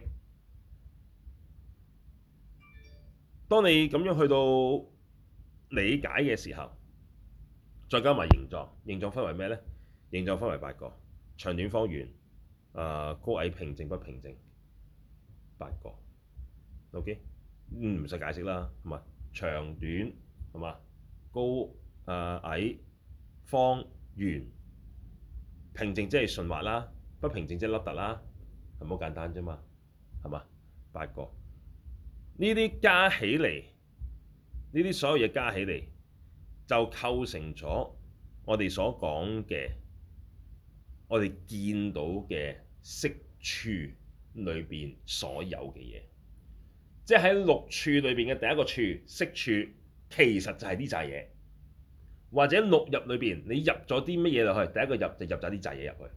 S1: 當你咁樣去到理解嘅時候，再加埋形狀，形狀分為咩呢？形狀分為八個：長短方圓、啊高矮平靜不平靜，八個。OK，唔使解釋啦，係嘛？長短係嘛？高啊矮方圓，平靜即係順滑啦，不平靜即係凹凸啦，係好簡單啫嘛，係嘛？八個呢啲加起嚟，呢啲所有嘢加起嚟，就構成咗我哋所講嘅，我哋見到嘅色處裏邊所有嘅嘢。即係喺六處裏邊嘅第一個處，色處，其實就係呢扎嘢，或者六入裏邊你入咗啲乜嘢落去，第一個入就入咗啲扎嘢入去，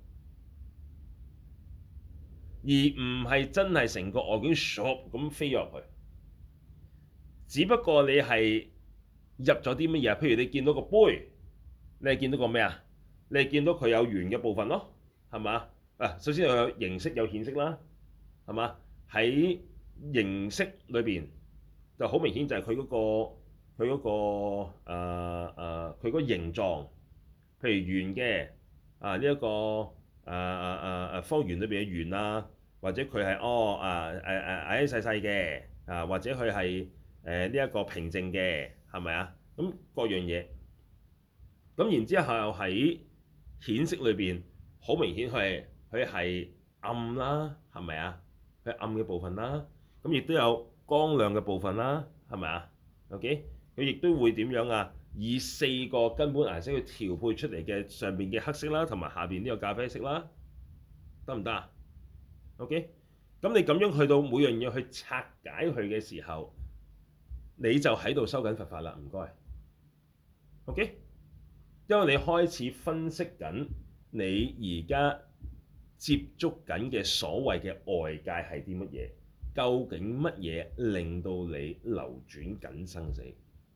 S1: 而唔係真係成個外境唰咁飛入去。只不過你係入咗啲乜嘢，譬如你見到個杯，你係見到個咩啊？你係見到佢有圓嘅部分咯，係嘛？啊，首先有形色有顯色啦，係嘛？喺形色裏邊就好明顯就係佢嗰個佢嗰、嗰個誒誒佢嗰個形狀，譬如圓嘅啊呢一、呢個誒誒誒誒方圓裏邊嘅圓啊，或者佢係哦啊誒誒矮矮細細嘅啊，或者佢係誒呢一個平靜嘅，係咪啊？咁各樣嘢，咁然之後喺顯色裏邊，好明顯佢係佢係暗啦，係咪啊？佢暗嘅部分啦。咁亦都有光亮嘅部分啦，係咪啊 ？OK，佢亦都會點樣啊？以四個根本顏色去調配出嚟嘅上邊嘅黑色啦，同埋下邊呢個咖啡色啦，得唔得啊 ？OK，咁你咁樣去到每樣嘢去拆解佢嘅時候，你就喺度修緊佛法啦，唔該。OK，因為你開始分析緊你而家接觸緊嘅所謂嘅外界係啲乜嘢。究竟乜嘢令到你流轉緊生死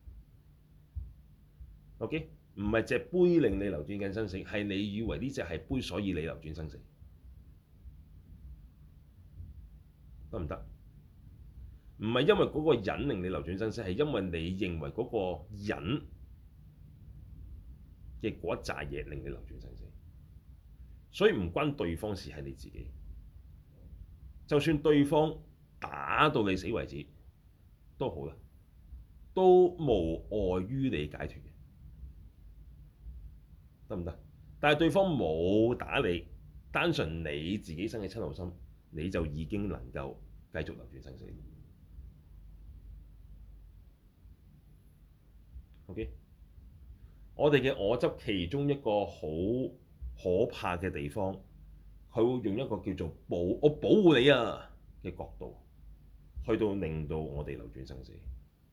S1: ？OK， 唔係隻杯令你流轉緊生死，係你以為呢隻係杯，所以你流轉生死，得唔得？唔係因為嗰個人令你流轉生死，係因為你認為嗰個人嘅嗰一紮嘢令你流轉生死，所以唔關對方事，係你自己。就算對方打到你死為止都好啦，都無礙於你解脫嘅，得唔得？但係對方冇打你，單純你自己生嘅瞋怒心，你就已經能夠繼續流轉生死。OK，我哋嘅我執其中一個好可怕嘅地方，佢會用一個叫做保我保護你啊嘅角度，去到令到我哋流轉生死。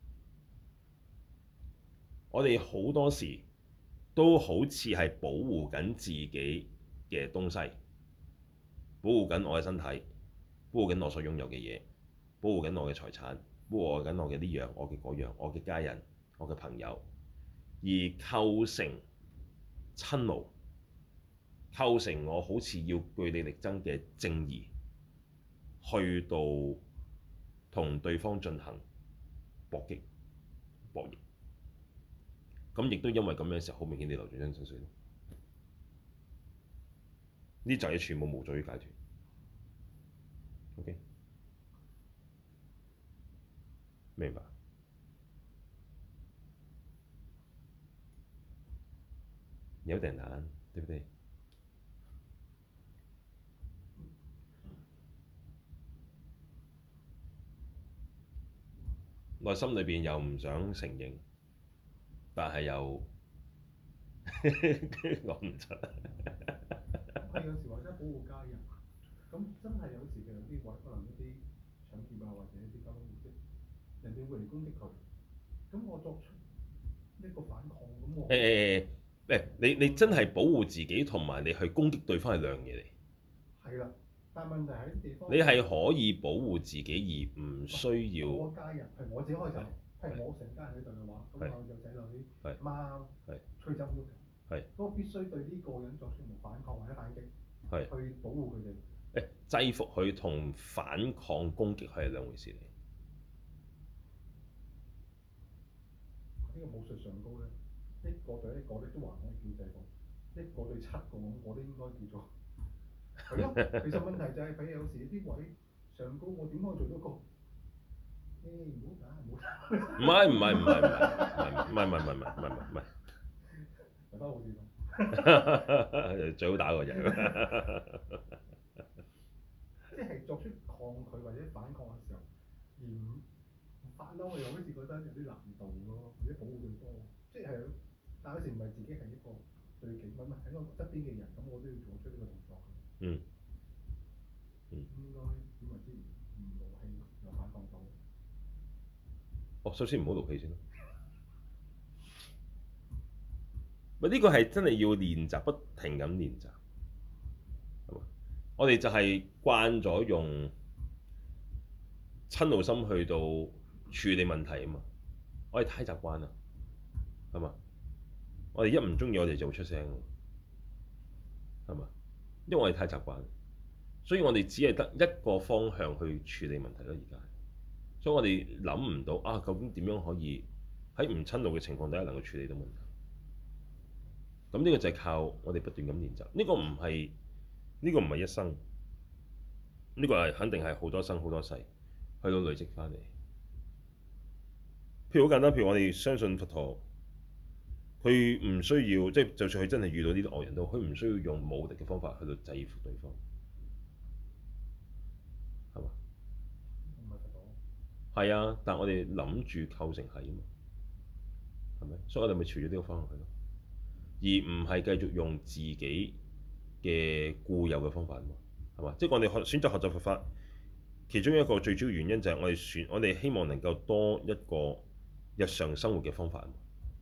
S1: 我哋好多時都好似係保護緊自己嘅東西，保護緊我嘅身體，保護緊我所擁有嘅嘢，保護緊我嘅財產，保護緊我嘅呢樣、我嘅嗰樣、我嘅家人、我嘅朋友，而構成瞋怒，構成我好似要據理力爭嘅正義，去到同對方進行搏擊、博弈。咁亦都因為咁樣嘅時候，好明顯地流轉緊生死咯。呢就係全部無助於解脫。OK，明白？有點難，對不對？ 內心裏邊又唔想承認，但係又講唔出。
S2: 係有時或者保護家人，咁真係有時嘅有啲位可能一啲搶劫啊，或者一啲交通意識，人哋會嚟攻擊佢，咁我作出呢個反抗，咁我
S1: 誒誒誒你你真係保護自己同埋你去攻擊對方係兩樣嘢嚟。
S2: 係啦，但係問題喺啲地方，
S1: 你係可以保護自己而唔需要。
S2: 我家人係我自己開手，係我成家人喺度嘅話，咁
S1: 係
S2: 我有仔女、
S1: 係
S2: 貓、
S1: 係
S2: 吹走要求，
S1: 係
S2: 咁我必須對呢個人作出反抗或者反擊，
S1: 係
S2: 去保護佢哋。
S1: 誒制服佢同反抗攻擊係兩回事嚟。
S2: 呢個武術上高咧，一個對一個咧都還可以叫制服，一個對七個咁，我都應該叫做係咯。其實問題就係、是，譬如有時啲位上高，我點可以做到個？誒唔好打，唔好打。
S1: 唔係唔係唔係唔係唔係唔係唔係唔係唔係，
S2: 大家好啲
S1: 最好打個人。
S2: 即係作出抗拒或者反抗嘅時候，而唔發嬲，我又好似覺得有啲難度咯，或者保護對方。即係，但有時唔係自己係一個對境，唔係喺我側邊嘅人，咁我都要做出呢個動作。
S1: 嗯。嗯。
S2: 應該點為之唔勞氣又反抗到？
S1: 哦，首先唔好勞氣先咯。喂，呢個係真係要練習，不停咁練習。係嘛？我哋就係慣咗用親怒心去到處理問題啊嘛。我哋太習慣啦，係嘛？我哋一唔中意，我哋就會出聲，係嘛？因為我哋太習慣，所以我哋只係得一個方向去處理問題咯。而家，所以我哋諗唔到啊，究竟點樣可以喺唔親怒嘅情況底下能夠處理到問題？咁呢個就係靠我哋不斷咁練習。呢個唔係呢個唔係一生，呢個係肯定係好多生好多世去到累積翻嚟。譬如好簡單，譬如我哋相信佛陀，佢唔需要即係，就算佢真係遇到呢啲惡人都，佢唔需要用武力嘅方法去到制服對方，係嘛？
S2: 唔係佛陀。
S1: 係啊，但係我哋諗住構成係啊嘛，係咪？所以我哋咪朝住呢個方向去咯。而唔係繼續用自己嘅固有嘅方法啊嘛，係嘛？即係我哋學選擇學習佛法，其中一個最主要原因就係我哋選，我哋希望能夠多一個日常生活嘅方法啊嘛，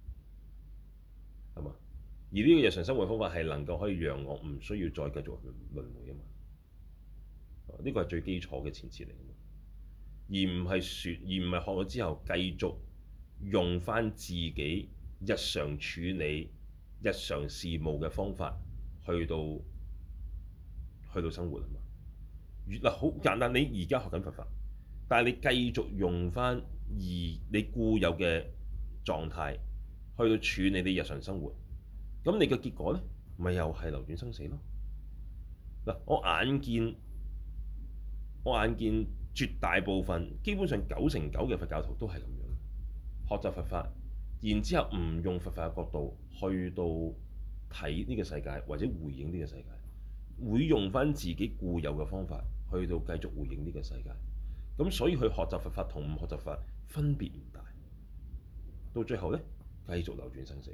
S1: 係嘛？而呢個日常生活方法係能夠可以讓我唔需要再繼續輪迴啊嘛，呢個係最基礎嘅前設嚟啊嘛，而唔係説，而唔係學咗之後繼續用返自己日常處理日常事務嘅方法去到去到生活啊嘛。嗱，好簡單，你而家學緊佛法，但係你繼續用翻而你固有嘅狀態去到處理你日常生活，咁你嘅結果咧，咪又係流轉生死咯。嗱，我眼見我眼見絕大部分，基本上九成九嘅佛教徒都係咁樣學習佛法。然之後唔用佛法嘅角度去到睇呢個世界或者回應呢個世界，會用翻自己固有嘅方法去到繼續回應呢個世界。咁所以去學習佛法同唔學習佛法分別唔大，到最後呢，繼續流轉生死，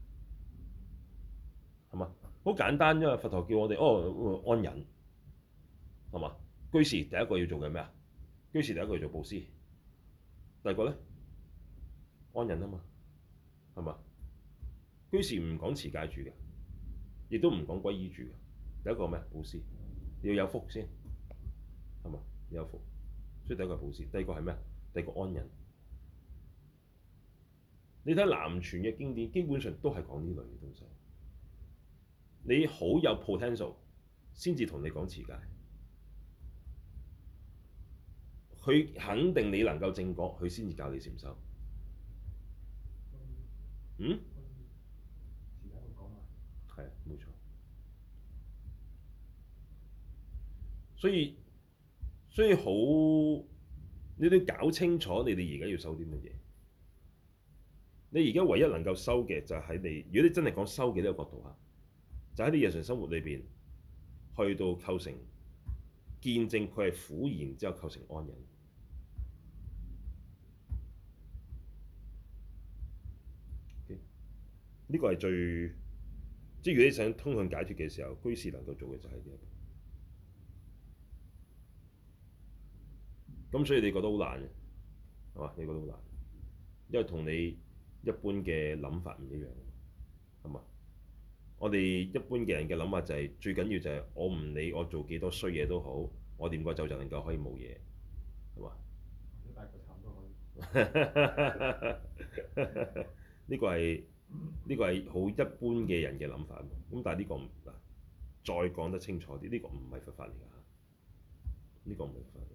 S1: 係嘛？好簡單，因為佛陀叫我哋哦安忍，係嘛？居士第一個要做嘅咩啊？居士第一個要做布施，第二個呢？安忍啊嘛。係嘛？居士唔講持戒住嘅，亦都唔講皈依住嘅。第一個咩？布施，要有福先，係嘛？要有福，所以第一個係布施。第二個係咩？第二個安忍。你睇南傳嘅經典，基本上都係講呢類嘅東西。你好有 potential 先至同你講持戒，佢肯定你能夠正果，佢先至教你禪修。嗯？
S2: 時間會講埋。
S1: 係啊，冇錯。所以所以好，你都要搞清楚你哋而家要修啲乜嘢。你而家唯一能夠修嘅就係你，如果你真係講修嘅呢個角度嚇，就喺你日常生活裏邊去到構成見證佢係苦，然之後構成安忍。 呢個係最，即係如果你想通向解脫嘅時候，居士能夠做嘅就係呢一步。咁所以你覺得好難嘅，係嘛？你覺得好難，因為同你一般嘅諗法唔一樣，係嘛？我哋一般嘅人嘅諗法就係、是、最緊要就係我唔理我做幾多衰嘢都好，我念個咒就能夠可以冇嘢，係嘛？
S2: 你大個慘都可以。
S1: 呢個係呢個係好一般嘅人嘅諗法，咁但係呢個唔嗱，再講得清楚啲，呢個唔係佛法嚟㗎，呢個唔係佛法嚟。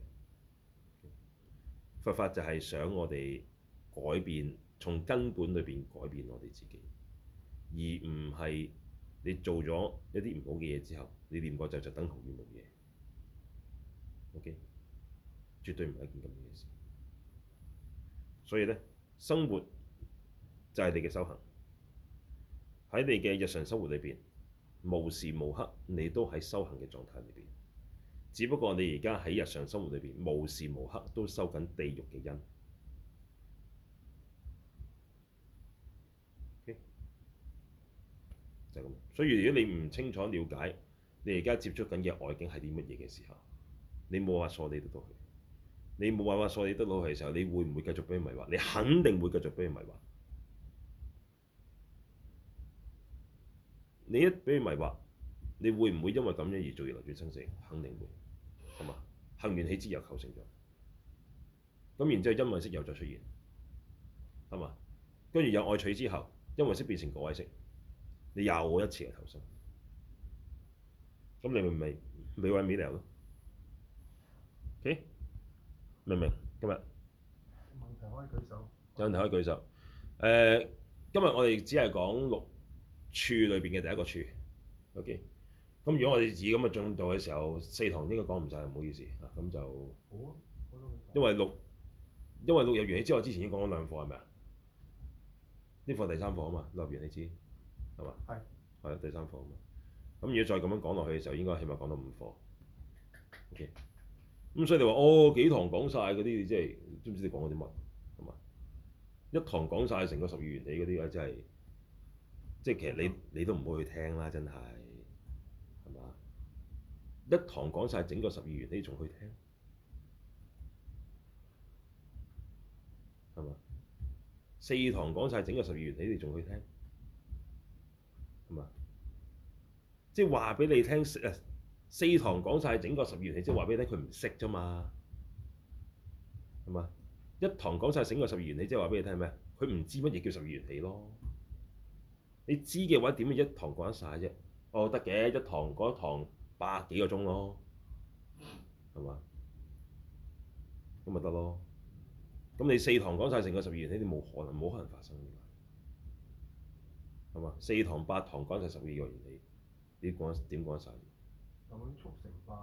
S1: 佛法就係想我哋改變，從根本裏邊改變我哋自己，而唔係你做咗一啲唔好嘅嘢之後，你念個咒就等同於冇嘢。OK，絕對唔係一件咁嘅事。所以咧，生活就係你嘅修行。喺你嘅日常生活裏邊，無時無刻你都喺修行嘅狀態裏邊。只不過你而家喺日常生活裏邊，無時無刻都收緊地獄嘅因。Okay? 就係咁。所以如果你唔清楚了解你而家接觸緊嘅外境係啲乜嘢嘅時候，你冇辦法梳理得到佢。你冇辦法梳理得到佢嘅時候，你會唔會繼續俾佢迷惑？你肯定會繼續俾佢迷惑。你一俾佢迷惑，你會唔會因為咁樣而做業流轉生死？肯定會，係嘛？行緣起之又構成咗，咁然之後因位識又再出現，係嘛？跟住有愛取之後，因位識變成果位識，你又一次嘅投生，咁你咪咪未毀未了咯。OK，明唔明？今日
S2: 問題可以舉手。
S1: 有問題可以舉手。誒、呃，今日我哋只係講六處裏邊嘅第一個處。OK。咁如果我哋以咁嘅進度嘅時候，四堂應該講唔晒，唔好意思啊。咁就
S2: 好啊，
S1: 因為六因為六入緣起之後，之前已經講咗兩課係咪啊？呢課第三課啊嘛，六入緣起知係嘛？係係第三課啊嘛。咁如果再咁樣講落去嘅時候，應該起碼講到五課。OK。咁所以你話哦幾堂講晒嗰啲，即係知唔知你講嗰啲乜係嘛？一堂講晒成個十二緣起嗰啲咧，真係即係其實你你都唔會去聽啦，真係。一堂講晒整個十二緣起，你仲去聽係嘛？四堂講晒整個十二緣起，你仲去聽係嘛？即係話俾你聽，誒四堂講晒整個十二緣起，即係話俾你聽佢唔識啫嘛，係嘛？一堂講晒整個十二緣起，即係話俾你聽咩？佢唔知乜嘢叫十二緣起咯。你知嘅話，點會一堂講得晒啫？哦，得嘅，一堂講一堂。百幾個鐘咯，係嘛？咁咪得咯。咁你四堂講晒成個十二緣起，你冇可能，冇可能發生嘅，係嘛？四堂八堂講晒十二個緣起，你講點講得晒？
S2: 有冇啲速成班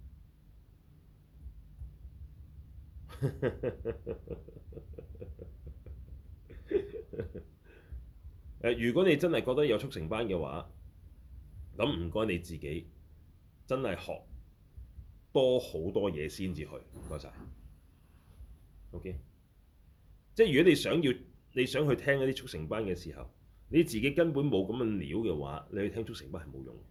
S2: 啊？
S1: 誒，如果你真係覺得有速成班嘅話，咁唔該你自己。真係學多好多嘢先至去，唔該晒。OK，即係如果你想要你想去聽一啲速成班嘅時候，你自己根本冇咁嘅料嘅話，你去聽速成班係冇用嘅。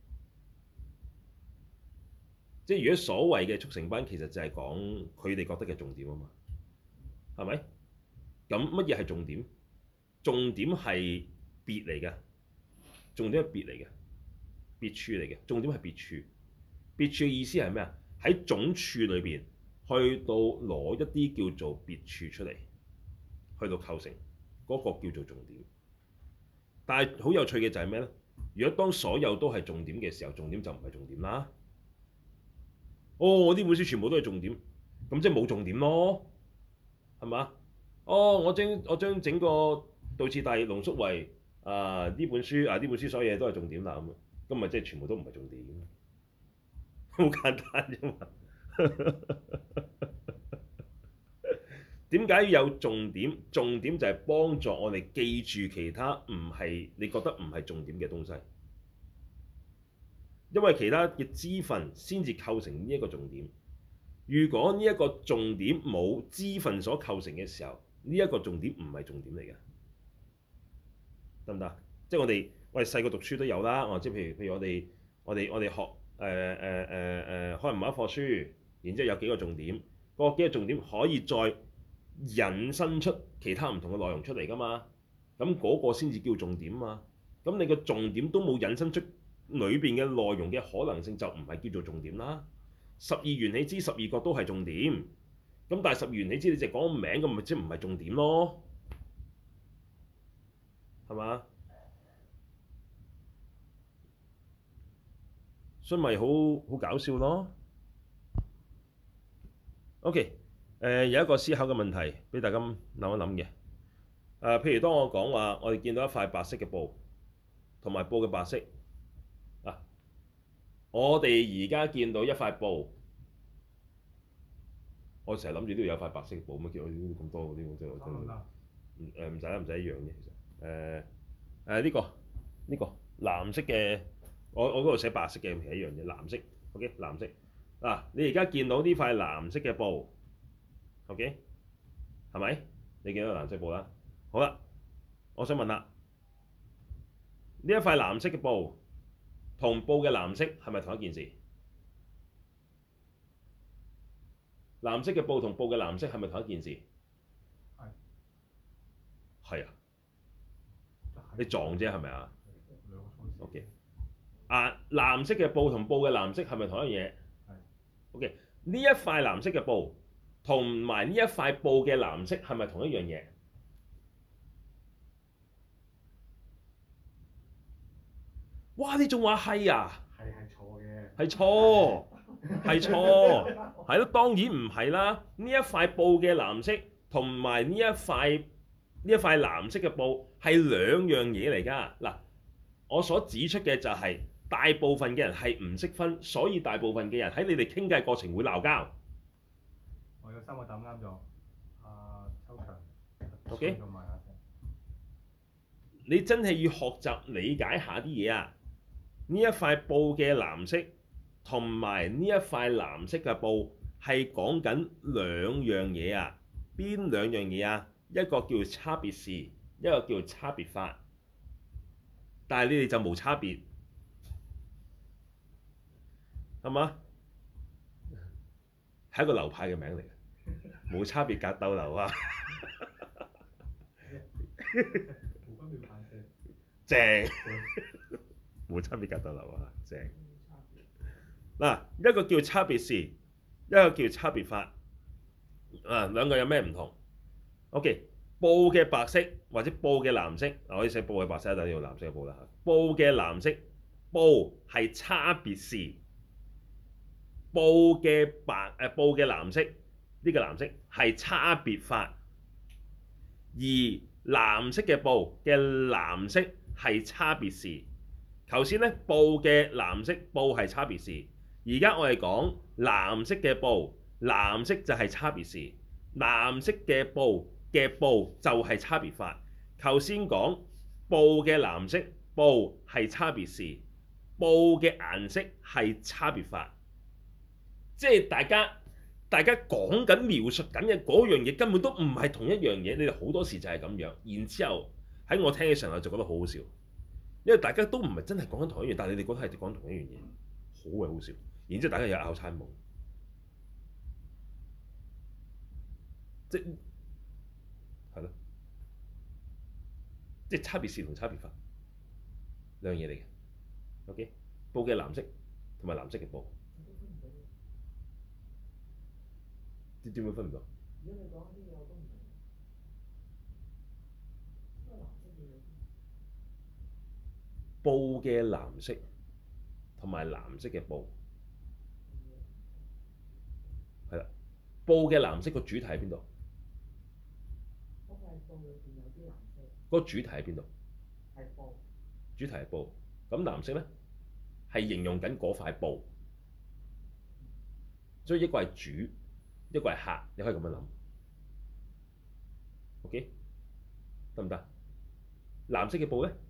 S1: 即係如果所謂嘅速成班，其實就係講佢哋覺得嘅重點啊嘛，係咪？咁乜嘢係重點？重點係別嚟嘅，重點係別嚟嘅，別處嚟嘅，重點係別處。別處嘅意思係咩啊？喺總處裏邊去到攞一啲叫做別處出嚟，去到構成嗰、那個叫做重點。但係好有趣嘅就係咩咧？如果當所有都係重點嘅時候，重點就唔係重點啦。哦，我呢本書全部都係重點，咁即係冇重點咯，係嘛？哦，我將我將整個道次第濃縮為啊呢本書啊呢本書所有嘢都係重點啦，咁咁咪即係全部都唔係重點。好簡單啫嘛！點解要有重點？重點就係幫助我哋記住其他唔係你覺得唔係重點嘅東西，因為其他嘅支分先至構成呢一個重點。如果呢一個重點冇支分所構成嘅時候，呢一個重點唔係重點嚟嘅，得唔得？ 即係我哋我哋細個讀書都有啦。哦，即係譬如譬如我哋我哋我哋學誒誒誒誒可能某一課書，然之後有幾個重點，嗰幾個重點可以再引申出其他唔同嘅內容出嚟㗎嘛。咁嗰個先至叫重點嘛。咁你個重點都冇引申出裏邊嘅內容嘅可能性，就唔係叫做重點啦。十二緣起支十二覺都係重點，咁但係十二緣起支你淨係講個名，咁咪即係唔係重點咯，係嘛？所以咪好好搞笑咯。OK，誒、呃、有一個思考嘅問題俾大家諗一諗嘅。誒、呃，譬如當我講話，我哋見到一塊白色嘅布，同埋布嘅白色。嗱，我哋而家見到一塊布，我成日諗住都要有塊白色嘅布，乜叫我咁多嗰啲，即係我真係唔誒唔使啦，唔使一樣啫，其實誒誒呢個呢、呢個藍色嘅，我我嗰度寫白色嘅，係一樣嘅藍色。OK， 藍色嗱、啊，你而家見到呢塊藍色嘅布 ，OK 係咪？你見到藍色布啦，好啦，我想問啦，呢一塊藍色嘅布同布嘅藍色係咪同一件事？藍色嘅布同布嘅藍色係咪同一件事？
S2: 係。
S1: 係啊。你撞啫係咪啊
S2: 兩個錯字。
S1: ？OK。啊，藍色嘅布同布嘅藍色係咪同一樣嘢？
S2: 係。
S1: OK。呢一塊藍色嘅布同埋呢一塊布嘅藍色係咪同一樣嘢？哇！你仲話係啊？
S2: 係係錯嘅。
S1: 係錯，係錯，係咯，當然唔係啦。呢一塊布嘅藍色同埋呢一塊呢一塊藍色嘅布係兩樣嘢嚟㗎。嗱，我所指出嘅就係大部分嘅人係唔識分，所以大部分嘅人喺你哋傾偈過程會鬧交。
S2: 我有三個答啱咗。阿秋長。
S1: OK。
S2: 同埋阿成。
S1: 你真係要學習理解下啲嘢啊！呢一塊布嘅藍色同埋呢一塊藍色嘅布係講緊兩樣嘢啊！邊兩樣嘢啊？一個叫差別事，一個叫差別法。但係你哋就冇差別，係嘛？係一個流派嘅名嚟嘅，冇差別格鬥流啊！
S2: 冇分別派嘅。
S1: 正，冇差別格鬥流啊！正。嗱，一個叫差別事，一個叫差別法。啊，兩個有咩唔同 ？OK，布嘅白色或者布嘅藍色，嗱，可以寫布嘅白色，但係要藍色嘅布啦嚇。布嘅藍色，布係差別事。布嘅白誒布嘅藍色，呢個藍色係差別法。而藍色嘅布嘅藍色係差別事。頭先咧，布嘅藍色布係差別事，而家我哋講藍色嘅布，藍色就係差別事。藍色嘅布嘅布就係差別法。頭先講布嘅藍色布係差別事，布嘅顏色係差別法。即係大家大家講緊描述緊嘅嗰樣嘢根本都唔係同一樣嘢，你哋好多時就係咁樣。然之後喺我聽嘅時候就覺得好好笑，因為大家都唔係真係講緊同一樣，但係你哋覺得係講同一樣嘢，好鬼好笑。然之後大家又拗餐夢，即係咯，即係差別事同差別法兩樣嘢嚟嘅。OK， 布嘅藍色同埋藍色嘅布。點點會分唔到？
S3: 如果你講啲嘢我都唔明，因為藍色嘅嘢。
S1: 布嘅藍色同埋藍色嘅布，係啦。布嘅藍色個主題喺邊度？
S3: 嗰塊布裏邊有啲藍色。
S1: 嗰個主題喺邊度？
S3: 係布。
S1: 主題係布，咁藍色咧係形容緊嗰塊布，所以一個係主，一個係客，你可以咁樣諗。OK， 得唔得？藍色嘅布咧？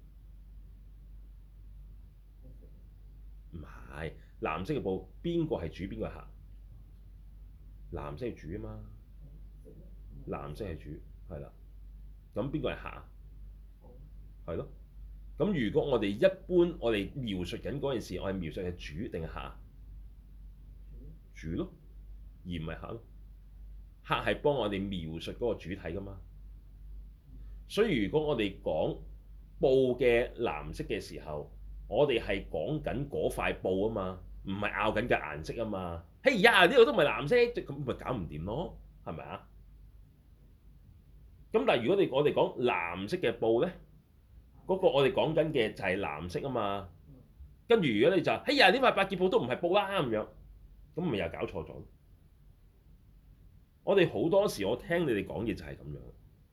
S1: 唔係，藍色嘅布邊個係主，邊個係客？藍色係主啊嘛，藍色係主，係啦。咁邊個係客啊？係咯。 咁如果我哋一般我哋描述緊嗰件事，我係描述係主定係客？主咯，而唔係客咯。客係幫我哋描述嗰個主體噶嘛。所以如果我哋講布嘅藍色嘅時候，我哋係講緊嗰塊布啊嘛，唔係拗緊嘅顏色啊嘛。嘿呀，呢度都唔係藍色，咁咪搞唔掂咯，係咪啊？咁但係如果你我哋講藍色嘅布咧，嗰、嗰個我哋講緊嘅就係藍色啊嘛。跟住如果你就嘿呀，呢塊百潔布都唔係布啦咁樣，咁咪又搞錯咗。我哋好多時我聽你哋講嘢就係咁樣，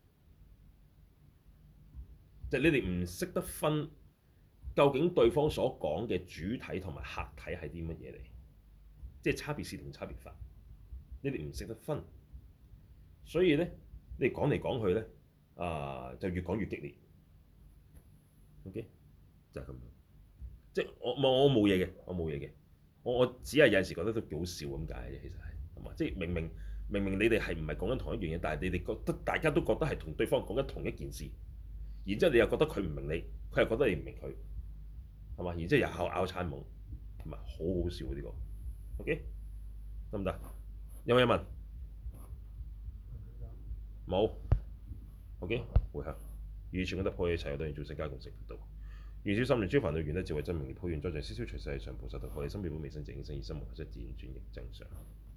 S1: 就係、你哋唔識得分究竟對方所講嘅主體同埋客體係啲乜嘢嚟，即係差別是同差別法，你哋唔識得分，所以咧你哋講嚟講去咧啊、呃、就越講越激烈。OK，就係咁樣，即係我我我冇嘢嘅，我冇嘢嘅，我我只係有陣時覺得都幾好笑咁解嘅，其實係係嘛，即係明明明明你哋係唔係講緊同一樣嘢，但係你哋覺得大家都覺得係同對方講緊同一件事，然之後你又覺得佢唔明你，佢又覺得你唔明佢，係嘛？然之後又拗拗餐懵，係咪好好笑呢個？OK，得唔得？有冇嘢問？冇。OK，回向。與全功德破一切有對應眾生皆共成佛道。願小心靈諸煩惱緣得智慧真明了，普願災障消消除世界上菩薩道，學你心妙本未生淨應生，以心無法則自然轉譯正常。